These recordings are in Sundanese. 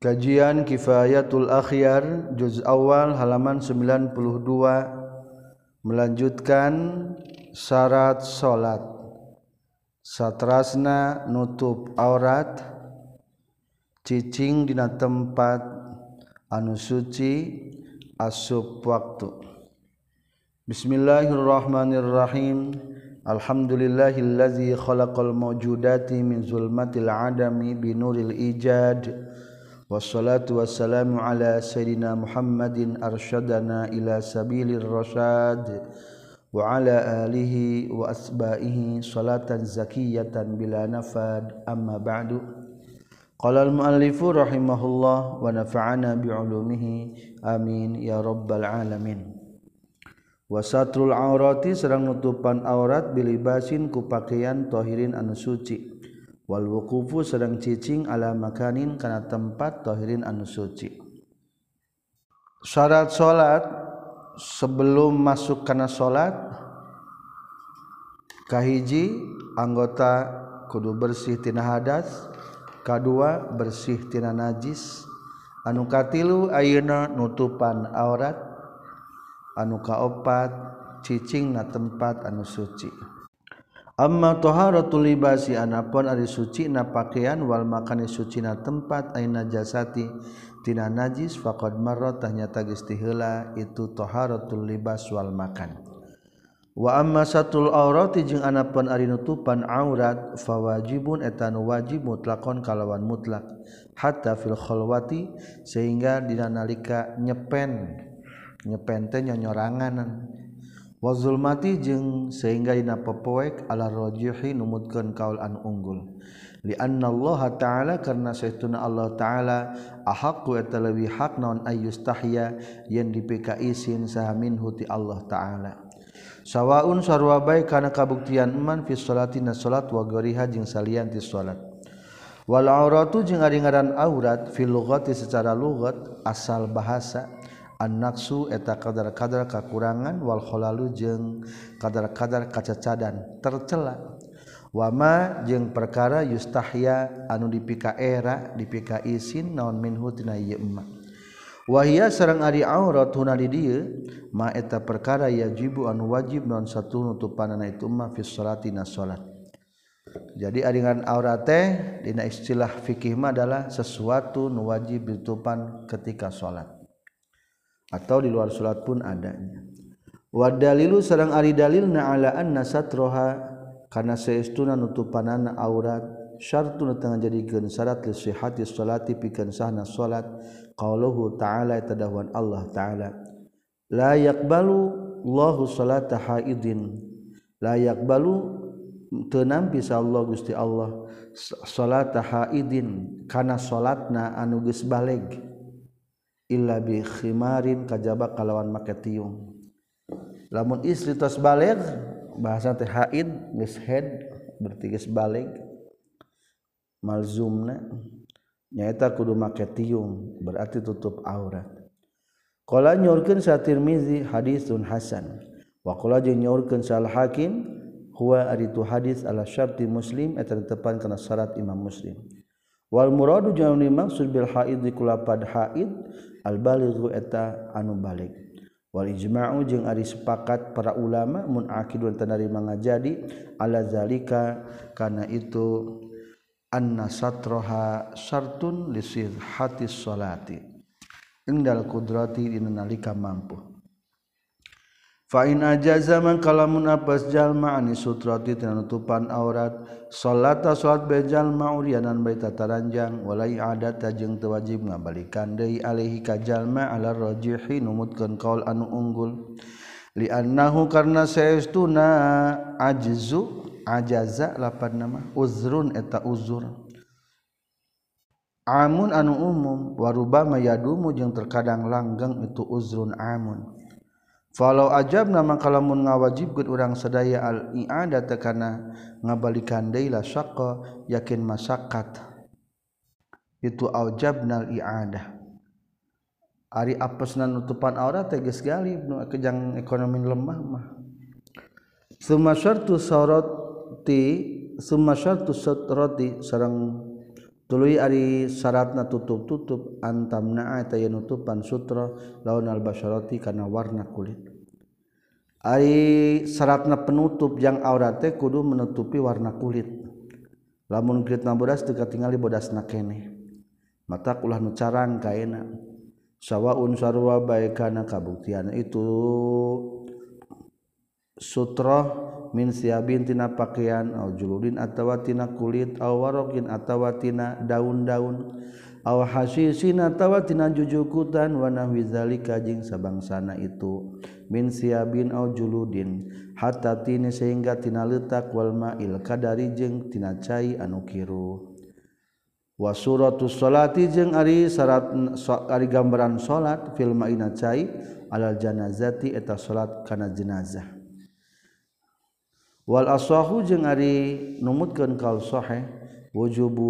Kajian Kifayatul Akhyar juz awal halaman 92 melanjutkan syarat salat. Satrasna nutup aurat, cicing dina tempat anu suci, asup waktu. Bismillahirrahmanirrahim. Alhamdulillahillazi khalaqal mawjudati min zulmatil adami binuril ijad. Wassalatu wassalamu ala sayyidina Muhammadin arsyadana ila sabilir rasyad wa ala alihi wa asba'ihi salatan zakiyatan bila nafad amma ba'du. Qala al-muallifu rahimahullah wa nafa'ana bi'ulumihi amin ya rabbal alamin. Wa satrul aurati sareng nutupan aurat bilibasin ku pakaian tahirin anu suci. Wal wuqufu sedang cicing ala makanin kana tempat tahirin anu suci. Syarat salat sebelum masuk kana salat kahiji anggota kudu bersih tina hadas, kadua bersih tina najis, anu katilu ayeuna nutupan aurat, anu kaopat cicing na tempat anu suci. Amma taharatul libasi anapun ari suci na pakaian wal makani suci na tempat aina jasati tina najis faqad marra tanyata geus ti heula itu taharatul libas wal makan. Wa amma satul aurati jeung anapun ari nutupan aurat fawajibun eta nu wajib mutlaqon kalawan mutlak hatta fil khalwati sehingga dina nalika nyepen teh nyonyoranganan. Wa zulmati jeung sehingga dina pepoek ala rajihi numutkeun kaul anu unggul li anna Allah taala karna saestuna Allah taala ahaqqu eta leuwih hak naon ayyustahya yen dipika isin saha minhu ti Allah taala sawaun sarua bae kana kabuktian iman fi sholatina salat wa ghairiha jeung salian ti salat wal auratu jeung ari ngaran aurat fil lughati secara lughat asal bahasa an-naqsu eta kadar-kadar kakurangan wal khalalu jeung kadar-kadar kacacadan tercela wama jeung perkara yustahya anu dipika era dipika isin naon minhu tina ieu emma wahia sareng ari aurat huna di dieu ma eta perkara yajibu anu wajib naon satu nutupanana itu emma fi sholatina salat. Jadi aringan aurat teh dina istilah fikih mah adalah sesuatu nu wajib ditutupan ketika salat atau di luar salat pun adanya. Wa dalilu sareng ari dalilna ala anna satroha kana saestuna nutupanana aurat syartun tengah jadikeun syarat li sihhati sholati pikeun sahna salat qauluhu ta'ala tadawan Allah ta'ala la yaqbalu Allahu salata haidin la yaqbalu teu nampi sa Allah Gusti Allah salata haidin kana salatna anu geus baleg illa bi khimarin kajaba kalawan make tiung. Lamun istri tos baligh bahasa teh haid geus head berarti geus baligh malzumna nyaeta kudu make tiung berarti tutup aurat. Qala nyorkeun sa Tirmizi hadisun hasan wa qala jeung nyorkeun sa Al-Hakim huwa aritu hadis ala syarti Muslim eta tepan kana syarat Imam Muslim. Wal muradu jeung dimaksud bil haid kulapad haid al balighu eta anu balig. Wal ijma'u jeung ari sepakat para ulama mun akidun tanarima ngajadi ala zalika kana itu anna satroha syartun li sihhatis sholati indal qudrati dina nalika mampu. Fa in ajaza man kalamun apas jalma ani sutrati tina nutupan aurat salata salat be jalma urianan baita taranjang walai adata jeung teu wajib ngabalikan deui alaihi ka jalma ala rajihi numutkeun qaul anu unggul li annahu karna saestuna ajzu ajaza lapan nama uzrun eta uzur amun anu umum warubama yadumu jeung terkadang langgeng itu uzrun amun. Falau ajabna maka lamun ngawajibkeun urang sadaya al-i'adata kana ngabalikan deui la syaqqa yakin masyaqqat itu aujabnal i'adah ari apesna nutupan aurat teh geus galib nu kejang ekonomi lemah mah summa syartu satrati sareng tuluy ari syaratna tutup-tutup antamna eta yen nutupan sutra laun al-basyarati kana warna kulit. Ari syaratna penutup jang aurat teh kudu menutupi warna kulit. Lamun kulitna bodas teu katingali bodasna keneh. Mata ulah nu carang kaena. Sawaun sarua bae kana kabuktian itu sutra min siabin tina pakaian au juludin atawa tina kulit au warokin atawa tina daun-daun au hasisin atawa tina jujukutan wa nahwi zalika jeung sabangsana itu min siabin au juludin hatta tini sehingga tina leutak wal ma'il kadari jeung tina cai anu kiru wa suratus sholati jeung ari syarat ari gambaran salat fil ma'ina cai alal janazati eta salat kana jenazah wal asahu jeung ari numutkeun kaul sahih wujubu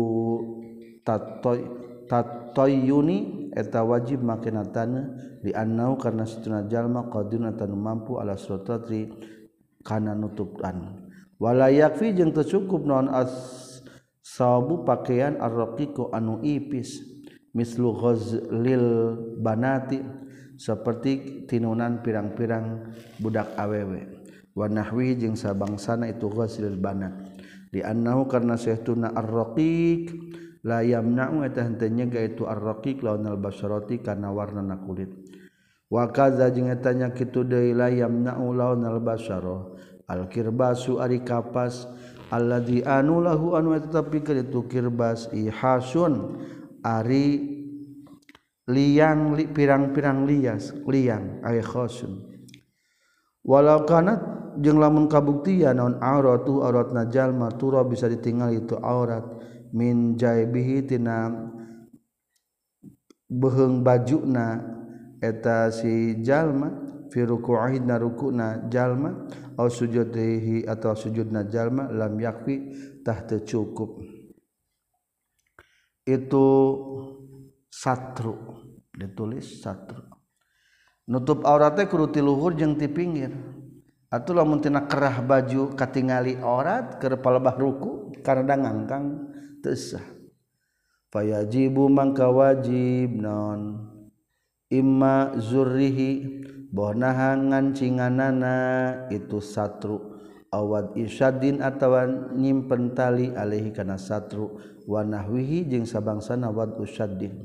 tatayyuni eta wajib makenatana di annau karna satuna jalma qadun atau mampu ala suratri kana nutupan wala yakfi jeung teu cukup naon sawabu pakaian ar-raqiqu anu ipis mislu ghazlil banati seperti tinunan pirang-pirang budak awewe wa nahwi jeung sabangsana itu ghazlil banat di annahu karna sahtuna ar-raqiq la yamna'u eta henteu nyegah itu ar-raqiq lawan al-basyarati kana warnana kulit wa kaza jeung eta nya kitu deui la yamna'u lawan al-basyarah al-kirbasu ari kapas alladzi anu lahu anu tetapi kitu kirbas ihasun ari liang pirang-pirang liang ay khosun walau kana jeung lamun kabuktian naon auratu auratna jalma tura bisa ditinggal itu aurat min jaibihi tina beheung bajuna eta si jalma fi ruku'ihi na rukuna jalma au sujudihi atau sujudna jalma lam yakfi tah teu cukup itu satru ditulis satru nutup aurat teh kudu ti luhur jeung ti pinggir atuh lamun tina kerah baju katingali aurat keur palebah ruku karena ngangkang teu sah fayajibu mangka wajib non imma zurrihi bonaha ngancinganana itu satru awad isyadin atawa nyimpen tali alaihi kana satru wa nahwihi jeung sabangsana wad usyaddin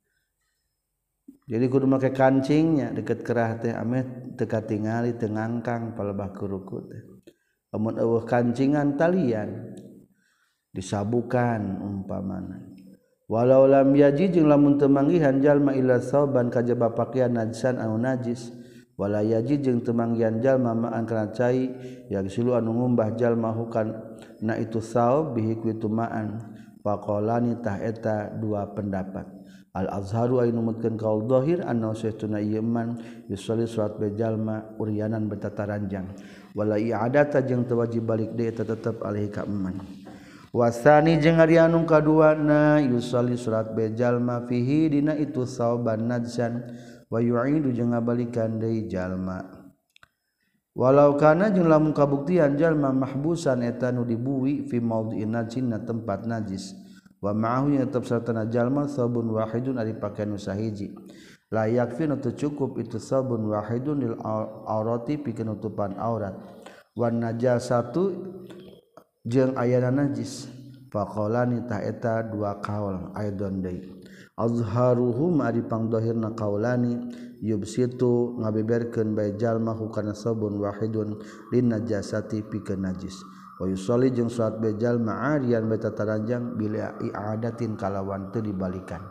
jadi kudu make kancingnya deket kerah teh ame teu katingali teu ngangkang palebah kuruku teh amun eueuh kancingan talian disabukan umpamana walau lam yaji jeung lamun teu manggihan jalma ila sauban kajaba pakaian najsan anu najis wala yaji jeung teu manggihan jalma ma'an kana cai yagsilu anu ngumbah jalma hukan na itu saub bihi ku itu ma'an faqalani tah eta dua pendapat al azharu ay numutkeun kaul zahir anna sayyiduna iman yusalli salat be jalma uryanan betataranjang wala i'adata jeung teu wajib balik deui eta tetep alaihi ka eman wasani jeung ari anu kaduana yusalli salat be jalma fihi dina itu sauban najsan wa yu'idu jeung ngabalikan deui jalma walau kana jeung lamun kabuktian jalma mahbusan eta nu dibuwi fi maudhi'in najin na tempat najis wa ma'ahu nya tetep sartana jalma sabun wahidun ari pakaian nu sahiji la yakfi nu teu cukup itu sabun wahidun lil aurati pikeun nutupan aurat wan najasatu jeung ayana najis faqalani ta eta dua qaul aidon deui azharuhum ari pangdohirna qaulani yubsitu ngabeberkeun bae jalma hukana sabun wahidun lin najasati pikeun najis wa yusalli jeung salat bae jalma arian bae tataranjang bila i'adatin kalawan teu dibalikan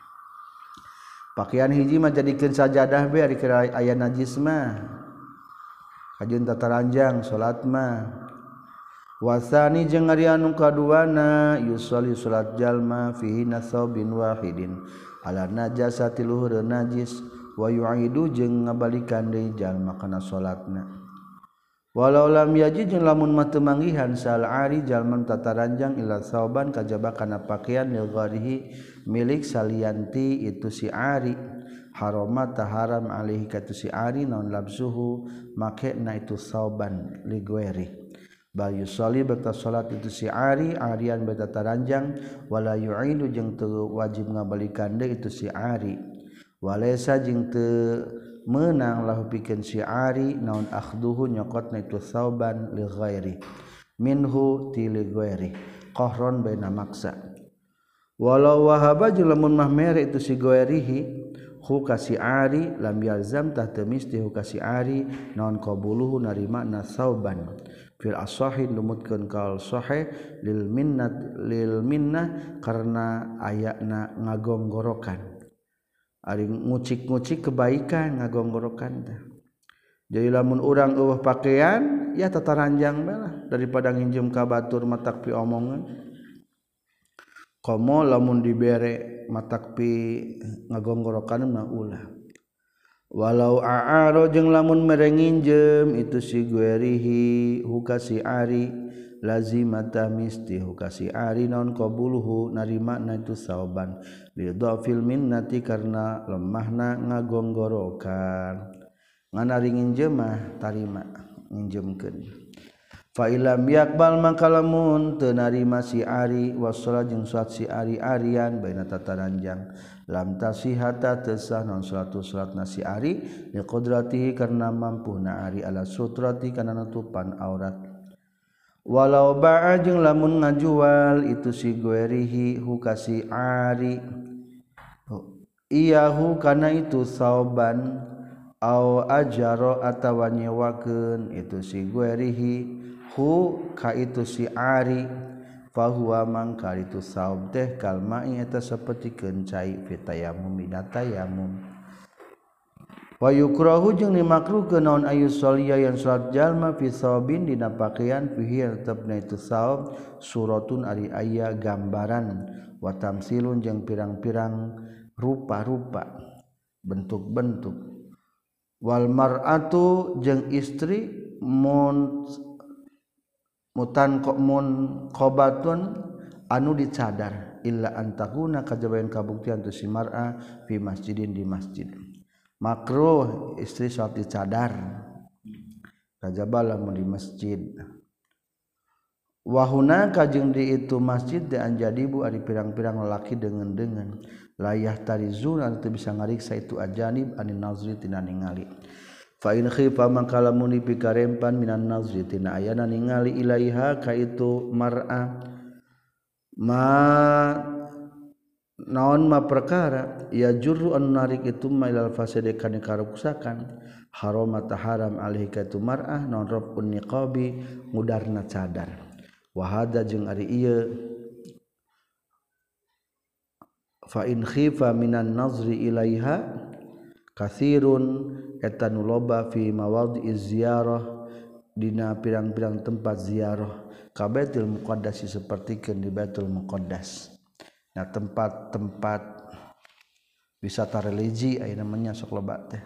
pakaian hiji mah jadikeun sajadah bae ari aya najis mah kajeun tataranjang salat mah wasani jeung ari anu kaduana yusolli salat jalma fihi nasabin wahidin ala najasati luhur najis wa yu'idu jeung ngabalikan deui jalma kana salatna walau lam yaji jeung lamun mah teu manggihan sal ari jalma tataranjang ila sauban kajaba kana pakaian lil gharihi milik salianti itu si ari harama taharam alaihi katu si ari naon labsuhu make na itu sauban li ghairi bayu soli beta salat itu si ari arian beta taranjang wala yu'idu jeung teu wajib ngabalikan deui itu si ari walaysa jeung teu meunang lahu pikeun si ari naon akhduhu nyokotna itu sauban li ghairi minhu ti li ghairi qahron baina maksa walau wahaba jeung lamun mah mere itu si ghairihi hu kasi ari lam yalzam tah teu misti hu kasi ari naon qabuluhu narima na sauban fil asahi numutkeun kaul sahih lil minnah karena ayana ngagonggorokan ari ngucik-ngucik kebaikan ngagonggorokan teh jadi lamun urang eueuh pakaian ya tataranjang bae lah daripada nginjem ka batur matak pi omongan komo lamun dibere matak pi ngagonggorokan mah ulah walau a'aro jeung lamun mere nginjem itu si guerihi hukasi ari lazimata misti hukasi ari naon qabuluhu narimana itu sauban li dhafil minnati karena lemahna ngagonggorokan nganari nginjem mah tarima nginjemkeun fa ilam yaqbal maka lamun teu narima si ari wassalat jeung salat si ari arian baina tataranjang lam tasihata tesah non salatna si ari li qudratihi karena mampuna ari ala sutrati kana nutupan aurat walau ba'a jeung lamun ngajual itu si guerihi hukasi ari iyahu kana itu sauban au ajaro atawa nyewakeun itu si guerihi hu ka itu si ari fahuwa mangka itu saub teh kalmai eta sapertikeun cai fi tayammum dina tayammum wa yukrahu jeung dimakruhkeun naon ayu sholiya yang salat jalma fi saubin dina pakaian fihi tetepna itu saub suratun ari aya gambaran wa tamsilun jeung pirang-pirang rupa-rupa bentuk-bentuk wal mar'atu jeung istri mutan qobatun anu dicadar illa antakuna kajabayan kabuktian tu si mar'a fi masjidin di masjid makruh istri salat dicadar kajaba lamun di masjid wa hunaka jeung di itu masjid de anjadibu ari pirang-pirang lalaki dengan layah tarizuna teu bisa ngariksa itu ajanib anin nazri tina ningali fa in khifa maka lamun dipikarempan minan nazri tina ayana ningali ilaiha ka itu mar'a ma naon ma perkara ya jurru an narik itu mailal fasade kana karuksakan haram ta haram alaihi ka itu mar'ah naon rafun niqabi mudarna cadar wa hada jeung ari ieu fa in khifa minan nazri ilaiha katsirun eta nu loba fi mawadhi'iz ziyarah dina pirang-pirang tempat ziarah ka Baitul Muqaddas sapertikeun di Baitul Muqaddas nah tempat-tempat wisata religi aya namanya sok loba teh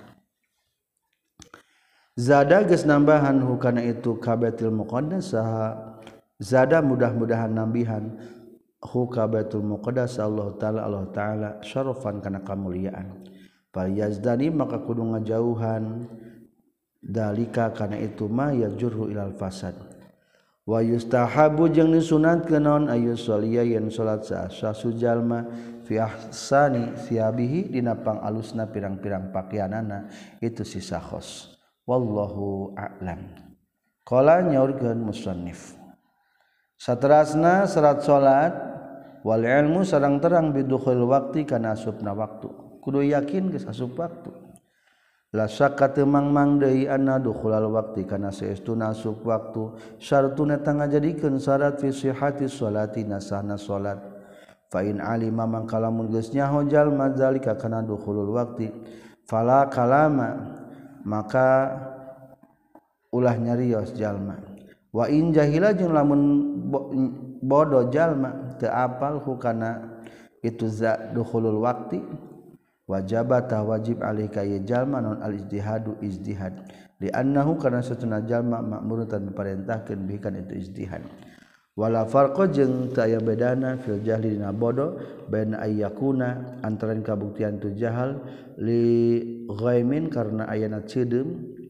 zada geus nambahan hukana itu ka Baitul Muqaddas saha zada mudah-mudahan nambihan hu ka Baitul Muqaddas Allah taala syarafan kana kamuliaan fal yazdani maka kudu ngajauhan dalika kana itu mah yajurru ilal fasad wa yustahabu jeung disunatkeun naon ayu sholiya yen salat sasu jalma fi ahsani thiyabihi dina pangalusna pirang-pirang pakaianana itu si sakhos wallahu a'lam qala nyaurkeun musannif saterasna salat salat wal ilmu sareng terang bidukhul waqti kana asupna waktu kudu yakin geus asup waktu la syakka teu mangmang deui anna dukhulal waqti kana saestuna asup waktu syartun eta ngajadikeun syarat fi sihhati sholati nasahna salat fa in alima mangka lamun geus nyaho jalma zalika kana dukhulul waqti fala kalama maka ulah nyarios jalma wa in jahila jeung lamun bodoh jalma teu apal hukana itu za dukhulul waqti wajabata wajib alika ya jalma non al ijtihadu ijtihad li annahu kana satuna jalma ma'murun tan diparentahkeun bikan itu ijtihad wala farqa jeung teu aya bedana fil jahli dina bodoh bain ayyakuna antarain kabuktian tu jahal li ghaimin karena ayana cedeum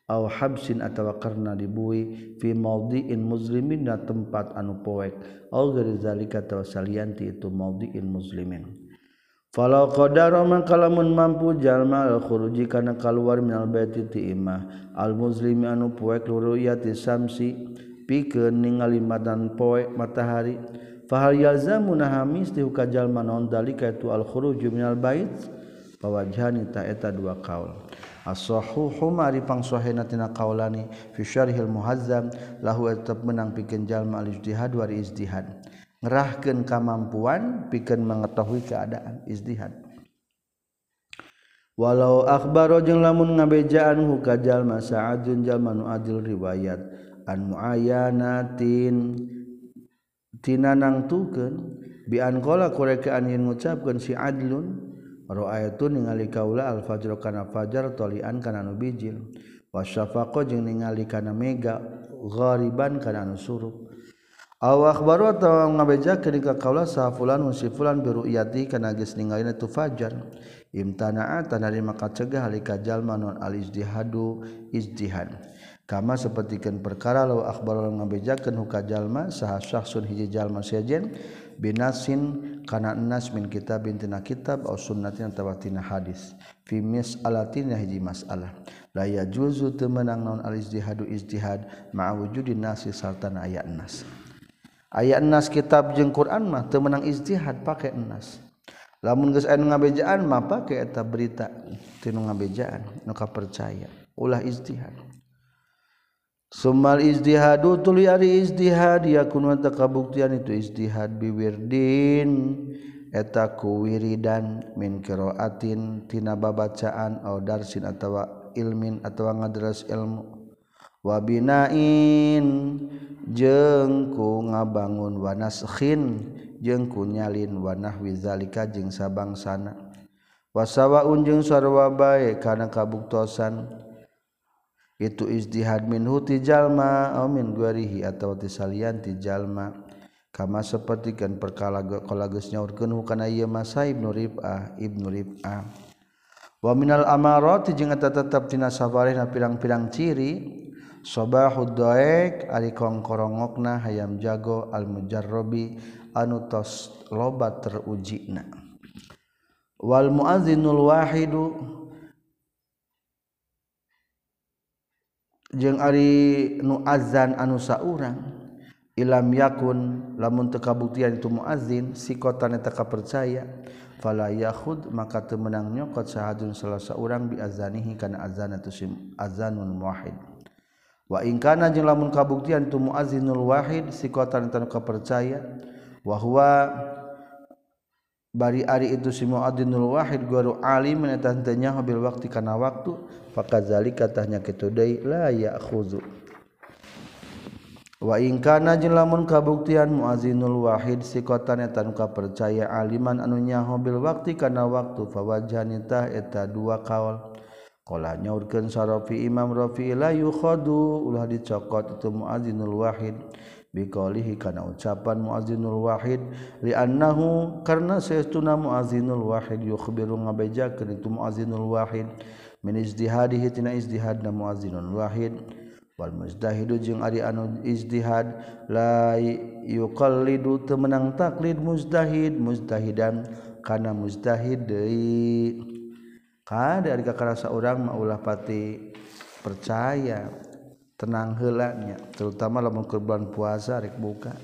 au habsin atawa karna dibui fi maudhi'in muslimin na tempat anu poek au ghairi zalika atawa salianti itu maudhi'in muslimin falau qadara maka lamun mampu jalma al khuruji kana kaluar minal baiti ti imah al muslimi anu poek luruyati samsi pikeun ningali madan poek matahari fahal yalzamu nahamis ti ka jalma naon dalika itu al khuruju minal bait pawajhani ta eta dua kaul as-sahihu mari pangsohena tina kaulani fi syarhil muhazzam lahu tetep menang pikeun jalma al ijtihad wa ijtihad ngerahkeun kemampuan pikeun mengetahui keadaan ijtihad walau akhbaro jeung lamun ngabejaan hu ka jalma sa'adun jalma nu adil riwayat an muayyanatin tina nangtukeun bi an qala kurekaan yen ngucapkeun si adlun ra'ayatun ningali kaula al fajr kana fajar tolian kana nu bijil wasyafaqo jeung ningali kana mega ghariban kana nu surup aw akhbaru atawa ngabejakeun ka kaula sa fulan si fulan bi ru'yati kana geus ningalina tu fajar imtana'a tanari maka cegah halika jalma non al ijtihadu ijtihad kama sapertikeun perkara law akhbaru ngabejakeun ka jalma saha syakhsun hiji jalma sajen binasin kana nas min kitabin tina kitab aw sunnatin atawa tina hadis fi mas'alatin hiji masalah la yajuzu teu meunang naon al ijtihadu ijtihad ma'a wujudin nasi sartan aya nas aya nas kitab jeung Quran mah teu meunang ijtihad pake nas lamun geus aya nu ngabejaan mah pake eta berita tinu ngabejaan nu kapercaya ulah ijtihad summal ijtihadu tuluy ari ijtihad yakun ta kabuktian itu ijtihad biwirdin eta ku wiridan min qiraatin tina babacaan au darsin atawa ilmin atawa ngadras ilmu wa binain jeung ku ngabangun wa naskhin jeung ku nyalin wa nahwi zalika jeung sabangsana wasawaun jeung sarua bae kana kabuktosan itu ijtihad minhu ti jalma aw min guarihi atawa ti salian ti jalma kama sapertikeun perkara qala geus nyaurkeun kana ieu masa ibnu rib'ah wa minal amarati jeung eta tetep tina sabarehna pirang-pirang ciri sabahud daik ari kongkorongokna hayam jago al mujarrabi anu tos loba terujina wal muazzinul wahidu jeung ari nu azan anu saurang ilam yakun lamun teu kabuktian itu muazzin sikotan eta kapercaya fala yakhud maka teu meunang nyokot sahadun salah saurang bi azanihi kana azan atu azanun wahid wa in kana jeung lamun kabuktian tu muazzinul wahid sikotan anu kapercaya wa huwa bari ari itu si muadzinul wahid guru alim eta teu nyaho bil waqti kana waktu fakadzalika tahnya kitu deui la ya'khuzu wa in kana jeung lamun kabuktian muazzinul wahid sikotan eta anu kapercaya aliman anu nyaho bil waqti kana waktu fawajhan tah eta dua kaul qala nyaurkeun sarafi imam rafi la yukhadu ulah dicokot itu muazzinul wahid biqaulihi kana ucapan muazzinul wahid li annahu karna saytuna muazzinul wahid yukhbiru ngabejakeun itu muazzinul wahid min ijtihadihi tina ijtihadna muazzinul wahid wal mujtahidu jeung ari anu ijtihad la yuqallidu teu meunang taklid mujtahidan kana mujtahid deui kada ari kakarasa urang mah ulah pati percaya tenang heula nya terutama lamun bulan puasa rek buka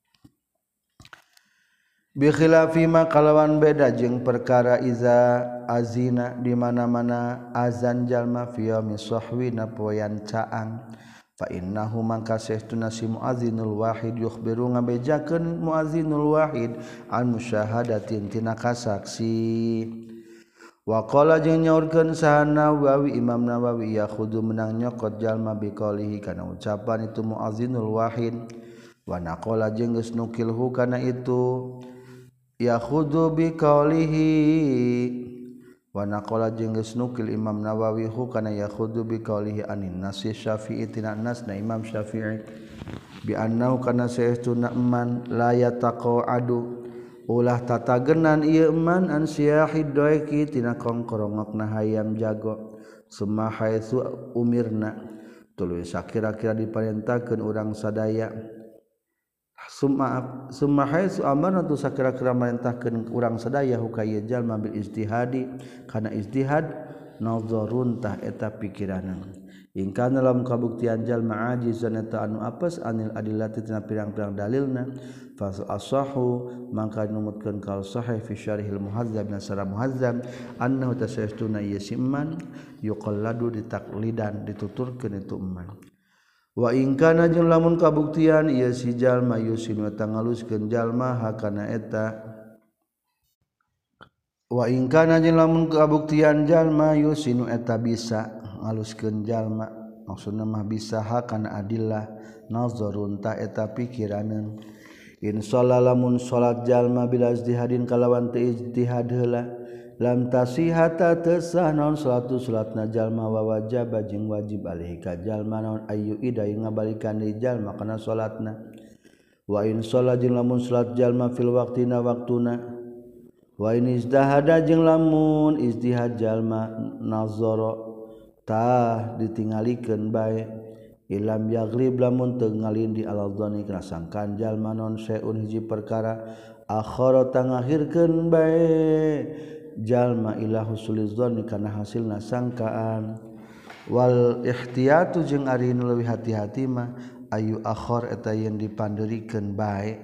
bi khilafi ma kalawan beda jeung perkara iza azina di mana-mana azan jalma fi yaumi sahwi na poean caang fa innahu mangka saestuna si muazzinul wahid yukhbiru ngabejakeun muazzinul wahid an musyahadatin tina kasaksi wa qala jeung nyaurkeun sahana Nawawi Imam Nawawi yakhudu menang nyokot jalma biqaulihi kana ucapan itu muazzinul wahid wa naqala jeung geus nukilhu kana itu yakhudu biqaulihi wa naqala jeung geus nukil Imam Nawawi hu kana yakhudu biqaulihi anin nasi Syafi'i tina nasna Imam Syafi'i bi annahu kana saestuna man la yataqadu ulah tatagenan ieu man an siyahid daiki tina kongkorongokna hayam jago summa haitsu umirna tuluy sakira-kira diparentahkeun urang sadaya summa haitsu amarna tu sakira-kira marentahkeun urang sadaya hukaya jalma bil ijtihadi kana ijtihad nazarun tah eta pikiranna in kana lam kabuktian jalma ajizan eta anu apes anil adillati tina pirang-pirang dalilna fa asahu mangka numutkeun kal sahih fi syarihil muhadzab nasara muhadzab annahu tasaytuna yasimman yuqalladu ditaklidan dituturkeun itu man wa in kana jeung lamun kabuktian ieu si jalma yusinu eta ngaluskeun jalma hakana eta wa in kana jeung lamun kabuktian jalma yusinu eta bisa ngaluskeun jalma maksudna mah bisa hakana adillah nazarun ta eta pikiraneun in lamun salat jalma bila ijtihadin kalawan teu ijtihad heula lam tasihata tesah naon salatna jalma wa wajib jeung wajib alaihi ka jalma naon ayu idai ngabalikan deui jalma kana salatna wa in shalla jeung lamun salat jalma fil waqtina waktuna wa in izdahada jeung lamun ijtihad jalma nazara tah ditingalikeun bae ilam yaglib lamun teu ngalindi al-dhani kana sangkaan jalma naon saeun hiji perkara akhara tangahirkeun bae jalma ila husuliz dzanni kana hasilna sangkaan wal ihtiyatu jeung ari nu leuwih hati-hati mah ayu akhar eta yen dipandeurikeun bae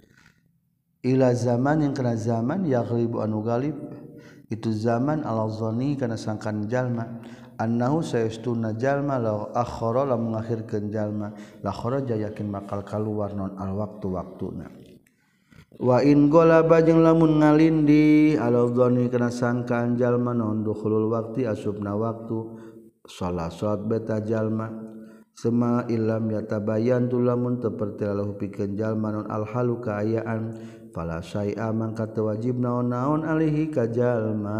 ila zaman yang kana zaman yaghlibu anu galib itu zaman ala dzanni kana sangkaan jalma annahu sayastuna jalma law akhara la mengakhirkeun jalma la kharaja yakin bakal kaluar non al waktu-waktuna wa in golaba jeung lamun ngalindi ala dzanni kana sangkaan jalma non dukhulul waqti asubna waktu salat beta jalma sema illam yatabayan tu lamun teu pertelalahu pikeun jalma non al halu kaayaan fala syai'a mangka teu wajib naon-naon alaihi ka jalma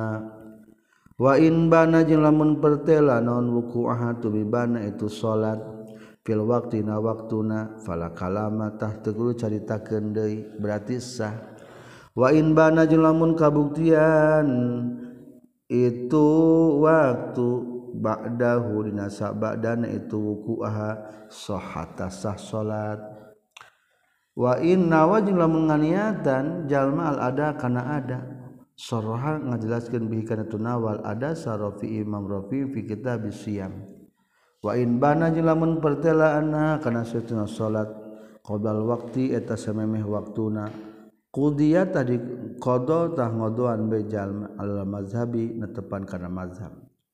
wa in bana jeung lamun pertela naon wuku'ah tu bibana itu salat fil waqtina waktuna fala kalama tah teu kudu caritakeun deui berarti sah wa in bana jeung lamun kabuktian itu waktu ba'dahu dina sabadana itu wuku'ah sahhata sah salat wa in nawa jeung lamun nganiatan jalma al ada kana ada saraha ngajelaskeun bihi kana tunawal ada sarafi imam rafi fi kitab siyam wa in bana jeung lamun pertelaanna kana satuna salat qodal waqti eta samemeh waktuna qudiyat tadi qada tah ngodoan be jalma al mazhabi netepan kana mazhab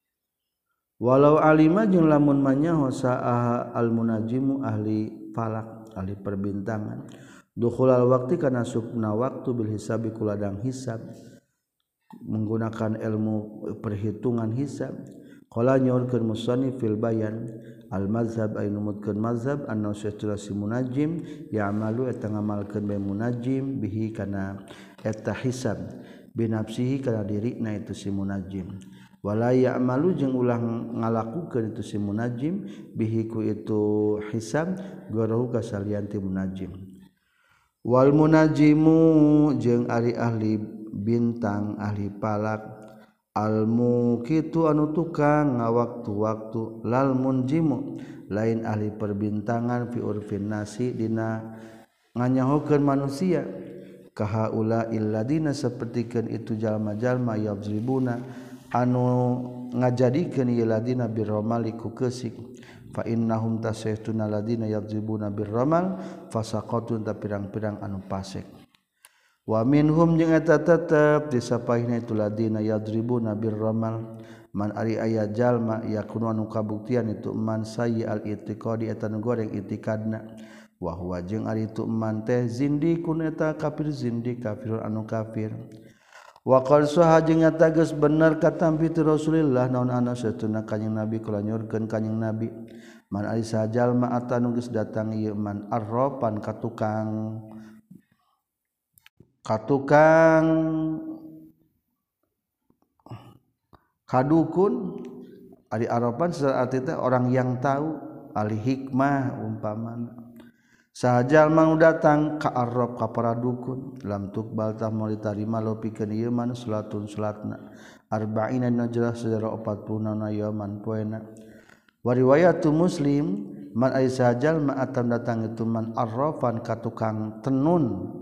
walau alima jeung lamun manyaho sa'ah al munajimu ahli falak ahli perbintangan dukhulal waqti kana subna waktu bil hisabi kuladang hisab menggunakan ilmu perhitungan hisab qala nyorkeun musannif fil bayan al mazhab ay numutkeun mazhab anna syai'si munajim ya'malu eta ngamalkeun be munajim bihi kana eta hisab binafsihi kana dirina itu si munajim wala ya'malu jeung ulah ngalakukeun itu si munajim bihi ku itu hisab garahu kasalianti munajim wal munajimu jeung ari ahli bintang ahli palak almu kitu anu tukang ngawaktu-waktu lal munjimu lain ahli perbintangan fi urfin nasi dina nganyahokeun manusia kahaula illadina sapertikeun itu jalma-jalma yadzribuna anu ngajadikeun ieu ladina birramali ku keusik fa innahum tasaytuna ladina yadzribuna birramal fasaqatun ta pirang-pirang anu pasek wa minhum jeung eta tetep disapahina itu ladina yadribuna birramal man ari aya jalma yakunu anu kabuktian itu man sayyi al itiqadi eta nu goreng itikadna wa huwa jeung ari itu man teh zindikun eta kafir zindik kafir anu kafir wa qad saha jeung eta geus bener katampi ti Rasulillah naon ana satuna kanjing Nabi kula nyorkeun kanjing Nabi man ari saha jalma atanu geus datang ieu man arrafan katukang kadukun ari arapan secara arti teh orang yang tahu ahli hikmah umpamana sahajal mang datang ka arab ka para dukun lam tuqbal tah moal ditarima lo pikeun ieu man salatun salatna arba'ina najrah sadara 40 na yaman poena wa riwayatu muslim man ay sahajal ma atam datang itu man arrafan ka tukang tenun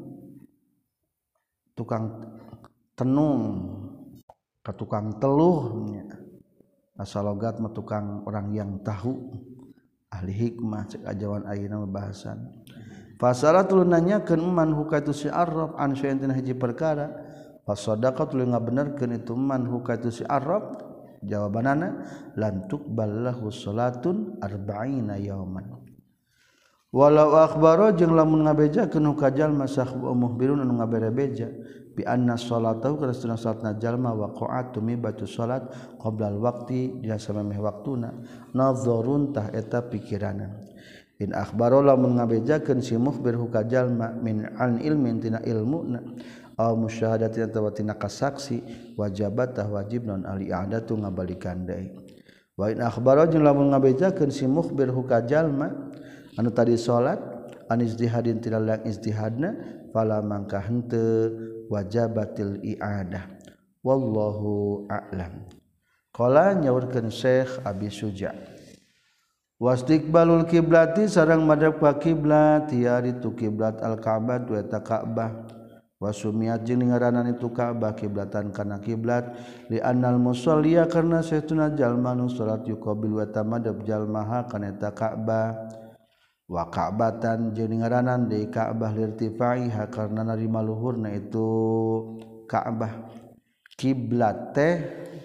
ka tukang teluh asal logat mah tukang orang yang tahu ahli hikmah cek ajawan ayeuna bahasan fasalatul nanyakeun man hukatu si arab an syai'in tina hiji perkara fasadaqat tuluy ngabenerkeun itu man hukatu si arab jawabanana lan tuqbal lahu salatun arba'ina yauman walau akhbaro jeung lamun ngabejakeun hukajal masakhu muhbirun anu ngaberebeja bi anna salatahu karastuna salatna jalma waqa'at tumibatu salat qabla al-waqti dina samemeh waktuna nazarun tah eta pikiranan in akhbaro lamun ngabejakeun si mukhbir hukajalma min an ilmin tina ilmuna aw musyahadatin atawa tina kasaksi wajabat tah wajib non al-i'adatu ngabalikan deui wa in akhbaro jeung lamun ngabejakeun si mukhbir hukajalma anu tadi salat an ijtihadin tina lang ijtihadna fala mangka henteu wajabatil i'adah wallahu a'lam qala nyaurkeun Syekh Abi Suja wastiqbalul kiblati sareng madhep ka kiblat tiari tu kiblat al-Ka'bah wa ta Ka'bah wasumiyat jeung ngaranan itu Ka'bah kiblatan kana kiblat li annal musalliya karna saytuna jalma nu salat yuqabil wa ta madhep jalmaha kana ta Ka'bah wa ka'batan jeung ngaranan deui Ka'bah lirtifaiha karna narima luhurna itu Ka'bah kiblat teh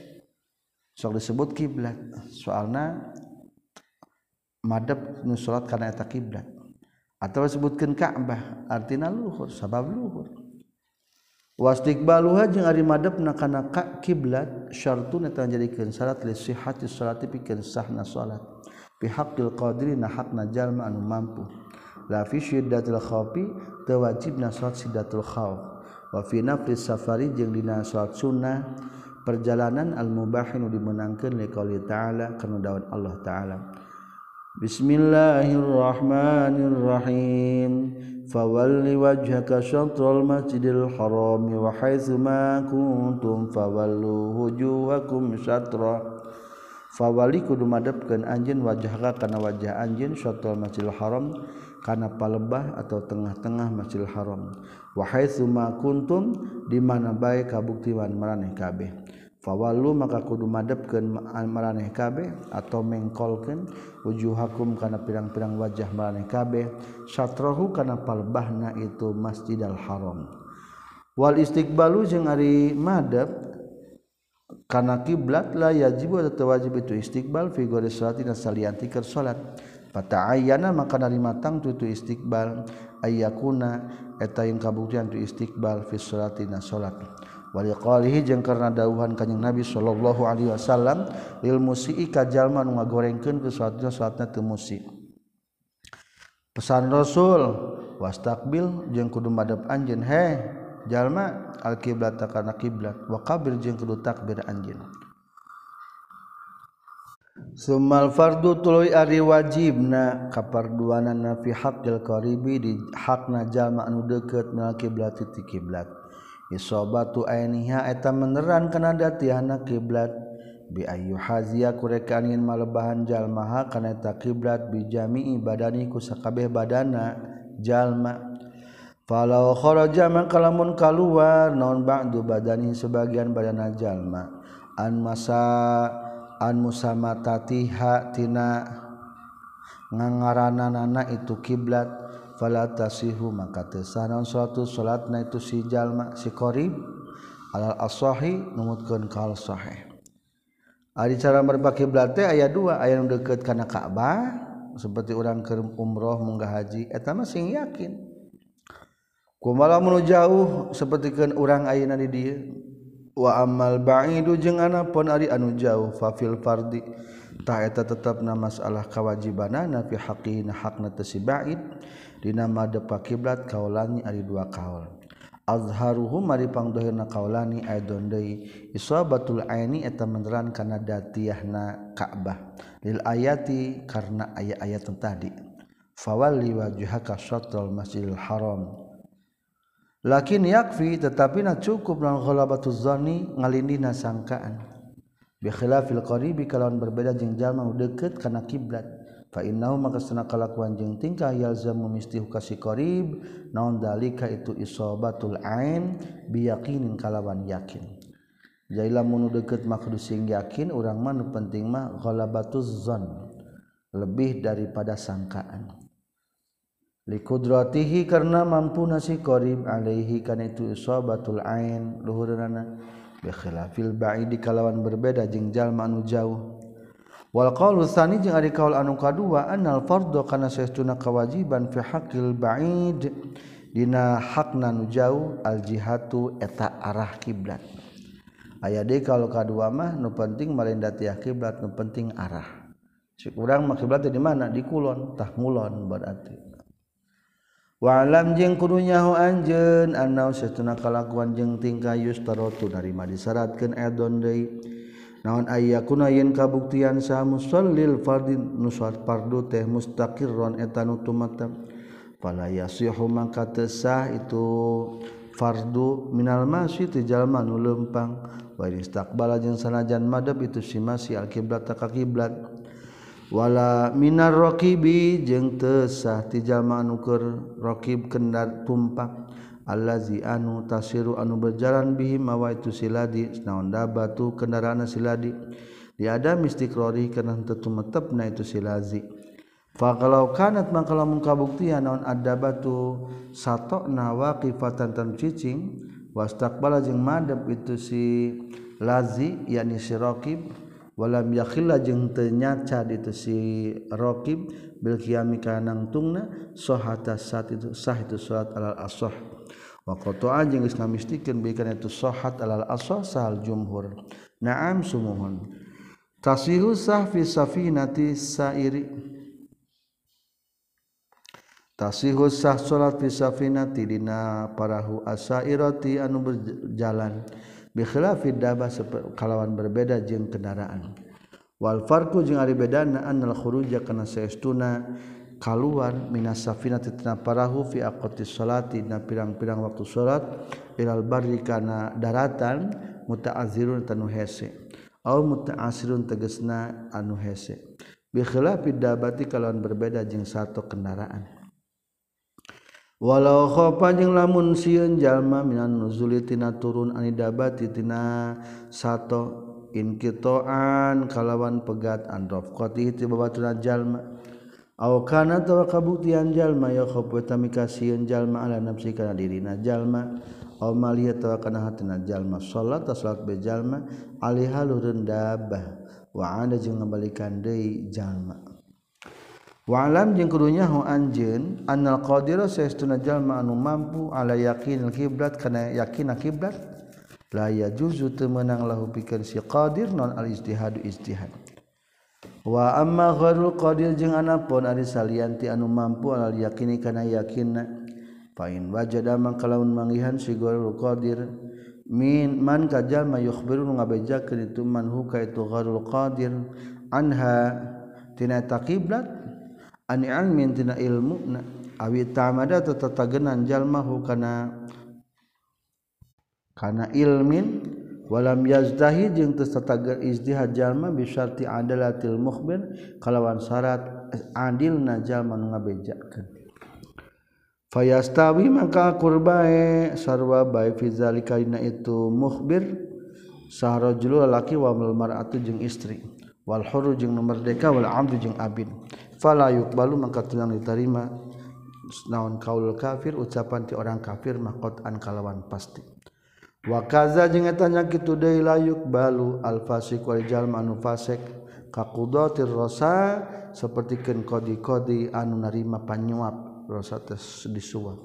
sok disebut kiblat soalna madhep nu salat kana eta kiblat atawa disebutkeun Ka'bah artina luhur sabab luhur wastiqbaluha jeung ari madhepna kana kiblat syartun eta njadikeun syarat li sihhati sholati pikeun sahna salat bihaqqil qadirina hakna jalma anu mampu la fi syiddatil khaufi teu wajibna salat syiddatul khauf wa fi naflis safari jeung dina salat sunnah perjalanan al mubahin dimenangkeun li qouli ta'ala kana daun Allah ta'ala bismillahirrahmanirrahim fawalli wajhaka syatral masjidil haram wa haitsu ma kuntum fawallu wujuhakum syatra fawali kudu madepkeun anjeun wajhaka kana wajah anjeun syatrul masjidil haram kana palebah atau tengah-tengah masjidil haram wa haitsu ma kuntum di mana bae kabuktian maraneh kabeh fawallu maka kudu madepkeun maraneh kabeh atau mengkolkeun wujuhakum kana pirang-pirang wajah maraneh kabeh syatrahu kana palebahna itu masjidil haram wal istiqbalu jeung ari madep kana kiblat la yajib atau wajib itu istiqbal fi ghairi salatin salianti keur salat fata'ayyana maka narimatang tu istiqbal ayyakuna eta yang kabuktian tu istiqbal fi salatina salat wa liqalihi jeung karna dawuhan kanjing Nabi sallallahu alaihi wasallam lil musii ka jalma nu ngagorengkeun ke salatna teu musi pesan Rasul wastaqbil jeung kudu madep anjeun jalma al-qiblat kana kiblat wa kabir jeung kudu takbir anjeun summal fardu tuluy ari wajibna kaparduanana fi haqqil qaribi di hakna jalma anu deukeut na kiblat ti kiblat isabatu ainiha eta meneran kana datihanna kiblat bi ayyu haziya kurekanin malebahan jalmaha kana eta kiblat bi jami'i badani ku sakabeh badana jalma falau kharaja maka lamun kaluar naon ba'du badani sebagian badana jalma an musamatatiha tina ngangaranana itu kiblat fala tasihu maka teu sah naon suatu salatna itu si jalma si qarib alal asahi numutkeun kal sahih ari cara merba kiblat teh aya dua aya nu deukeut kana Ka'bah seperti urang keur umroh munggah haji eta mah sing yakin kumaha mun jauh sapertikeun urang ayeuna di dieu wa amal ba'idu jeung anapun ari anu jauh fa fil fardi tah eta tetepna masalah kewajibanana fi haqqina hakna tasiba'id dina madhep kiblat kaulani ari dua kaul azharuhum mari pangdohirna kaulani aidon deui isabatul aini eta meneran kana datiahna Ka'bah lil ayati karna aya-ayat tadi fawalli wajhaka syatral masjidil haram lakin yakfi tetapi na cukup lan ghalabatuz zanni ngalindina sangkaan bi khilafil qaribi kalawan berbeda jeung jalma nu deukeut kana kiblat fa innahu maka sana kalakuan jeung tingkah yalzamu mistihu kasih qarib naon dalika itu isobatul ain bi yaqinin kalawan yakin jadi lamun nu deukeut mah kudu sing yakin urang mah nu penting mah ghalabatuz zan lebih daripada sangkaan likudratihi karena mampu nasi qarib alaihi kana itu isobatul ain luhurna bi khilafil ba'idi kalawan berbeda jeung jalma anu jauh wal qaulu tsani jeung ari kaul anu kadua annal fardhu kana saestuna kewajiban fi haqqil ba'id dina hakna nu jauh al jihatu eta arah kiblat aya deui kalau kadua mah nu penting malinda tiah kiblat nu penting arah cik urang mah kiblat di mana di kulon tah ngulon berarti wa alam jeung kudu nyaho anjeun annahu saestuna kalakuan jeung tingkah yustaratu narima disyaratkeun edon deui naon ayyakuna yen kabuktian sa musallil fardin nusat fardu teh mustaqirron eta nu tumatam fala yasihu maka teu sah itu fardu minal masyi ti jalma nu leumpang wa istaqbala jeung sanajan madhab itu si masyi al qiblat ka kiblat wala minar raqibi jeung teu sah ti jalma anu keur raqib kendar tumpak allazi anu tasiru anu berjalan bihi mawa itu siladi naon dabatu kendaraan siladi diada mistiqrori kana teu tumetepna itu silazi fa kalau kanat maka lamun kabuktian naon adabatu satona waqifatan tan cicing wastaqbala jeung madhab itu si lazi yakni si raqib walam yakhilla jeung teu nyaca itu si raqib bil qiyami kana nangtungna sahata sat itu sah itu salat alal ashah wa qata'a jeung geus ngamistikeun bae kana itu sahhat alal ashah sahal jumhur na'am sumuhun tasihu sah fi safinati sairi tasihu sah salat fi safinati dina parahu asairati anu berjalan bi khilafid dabah kalawan berbeda jeung kendaraan wal farqu jeung ari bedana annal khuruja kana saestuna kaluar minas safinati tina parahu fi aqatis salati na pirang-pirang waktu salat ilal barri kana daratan muta'azzirun tanu hese au muta'assirun tegasna anu hese bi khilafid dabati kalawan berbeda jeung sato kendaraan walau khofa jeung lamun sieun jalma minan nuzuli tina turun ani dabati tina sato inqita'an kalawan pegat an rafqati ti babaturan jalma aw kana tawa kabuktian jalma ya khofa tamikasieun jalma ala nafsi kana dirina jalma aw maliyat tawa kana hatina jalma salat be jalma alaiha lureun dabah wa ana jeung ngabalikan deui jalma wa alam jeung kudu nyaho anjeun annal qadira saestuna jalma anu mampu ala yaqinil qiblat kana yakin qiblat la yajuzu teu meunang lahu pikeun si qadir non al ijtihadu ijtihad wa amma ghairul qadir jeung anapun ari salianti anu mampu al yakini kana yakinna fa in wajada mangka lamun manggihan si ghairul qadir min man kajal mayukhbiru ngabejakeun itu man hu ka itu ghairul qadir anha tina taqiblat an ilmin tina ilmuna awi tamada tataganan jalmahu kana ilmin walam yazdahi jeung teu satagar ijtihad jalma bi syarti adalatil mukhbir kalawan syarat adilna jalma nu ngabejakeun fayastawi maka qurbae sarwa bae fi zalika dina itu mukhbir sahrajul laki wa mar'atu jeung istri wal hurru jeung nu merdeka wal abdu jeung abid fala yuqbalu maka teu diterima naon kaul kafir ucapan ti orang kafir maqatan kalawan pasti wa kaza jeung eta nya kitu deui la yuqbalu al fasiq wal jalma anu fasik ka qudatir rasa sapertikeun qadi-qadi anu narima panyuap rasa tes disuap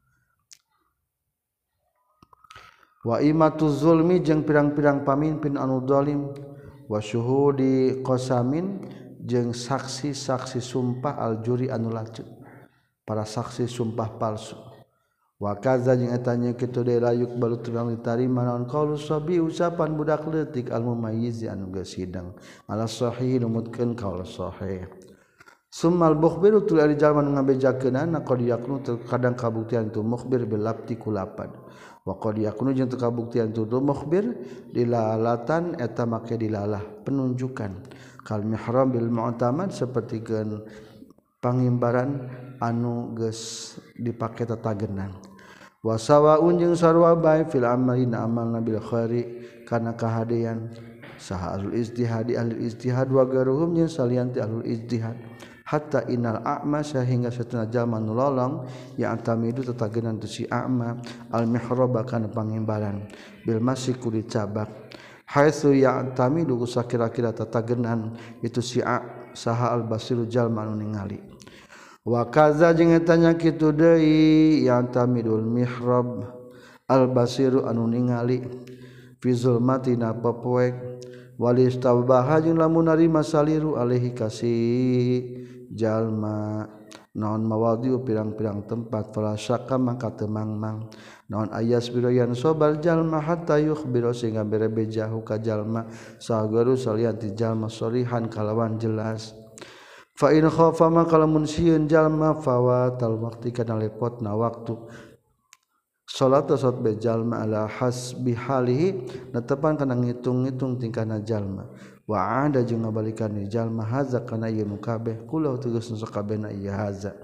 wa imatuz zulmi jeung pirang-pirang pamimpin anu zalim wa syuhudi qasamin jeung saksi-saksi sumpah al-juri anu lacut para saksi sumpah palsu wa kaza jeung eta nya kitu deui layuk balu turang ditarima naon qaulu sabi ucapan budak leutik al mumayyiz anu geus hidang ala sahih numutkeun qaul sahih Summal mukhbiru tu ari jalma nu ngabejakeunana qad yakunu kadang kabuktian tu mukhbir bil labti kulapan wa qad yakunu jeung teu kabuktian tu mukhbir dilalatan eta make dilalah penunjukan kal mihram bil mu'tamad sapertikeun pangimbaran anu geus dipake tatagenan wa sawaun jeung sarua bae fil amalina amalna bil khairi kana kahadean saha ahlul ijtihad ahli ijtihad wa garuhum jeung salianti ahlul ijtihad hatta innal a'ma sehingga satuna jalma nu lolong ya antamidu tatagenan tu si a'ma al mihraba kana pangimbalan bil masyi ku dicabak haitsu ya antamidu sakira-kira tatagenan itu si saha al basiru jalma nu ningali wa kaza jeung eta nya kitu deui ya antamidul mihrab al basiru anu ningali fi zulmatina papoek walistabaha jeung lamun narima saliru alaihi kasih jalma naon mawadiu pirang-pirang tempat fala syakka maka teu mangmang naon ayas biroyan sobal jalma hatta yukhbiro sehingga berebejahu ka jalma sagaru salian ti jalma sorihan kalawan jelas fa in khafa maka lamun sieun jalma fawatal waqti kana lepotna waktu salat salat be jalma ala hasbi halihi netepan kana ngitung-ngitung tingkahna jalma wa ada jeung ngabalikan ni jalma haza kana ieu nu kabeh kula tegas nu sakabehna ieu haza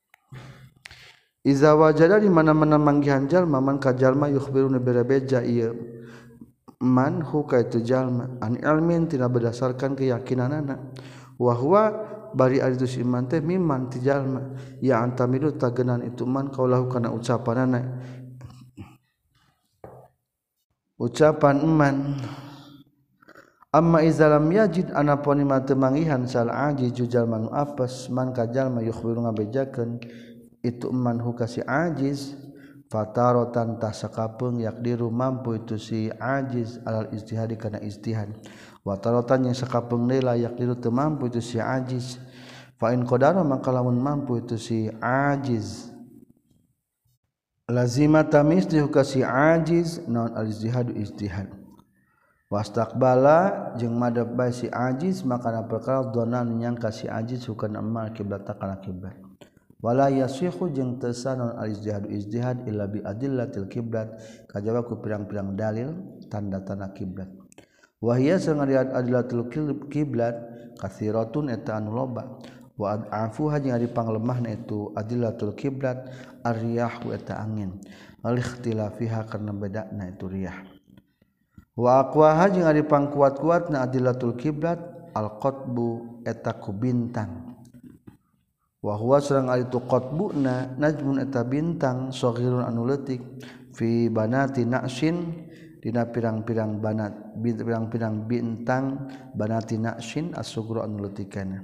iza wajada di mana-mana manggihan jalma man ka jalma yukhbiruna berebeja ieu man hu ka itu jalma an ilmin tina berdasarkan keyakinanana wa huwa bari ari tu iman teh mimman ti jalma ya antamidu tagenan itu man kaulahu kana ucapanana ucapan iman amma izalam yajid anapun ima teu mangihan sal ajiz jalma nu apes man ka jalma yukhbiru ngabejakeun itu man hu ka si ajiz fataratan tasakapeung yakdiru mampu itu si ajiz alal ijtihad kana ijtihad wa taratan yang sakapeung deui layak diru teu mampu itu si ajiz fa in qadara maka lamun mampu itu si ajiz lazima tamisli ka si ajiz naon al ijtihad ijtihad wastaqbala jeung madab bae si ajiz maka na perkara donan nyangka si ajiz hukan amal kiblat kana kiblat wala yasihu jeung teu sanon al ijtihad ijtihad illa bi adillatil kiblat kajaba ku pirang-pirang dalil tanda-tanda kiblat wa hiya sangariat adillatul kiblat katsiratun eta anu loba wa afuha jeung ari panglemahna itu adillatul kiblat ar-riyah eta angin al-ikhtilafiha karna bedana itu riyah wa aqwaha jeung ari pangkuat-kuatna adillatul kiblat al-qatbu eta ku bintang wa huwa sareng ari tu qatbuna najmun eta bintang saghirun anu leutik fi banati na'shin dina pirang-pirang banat pirang-pirang bintang banati na'shin as-sughra anu leutikana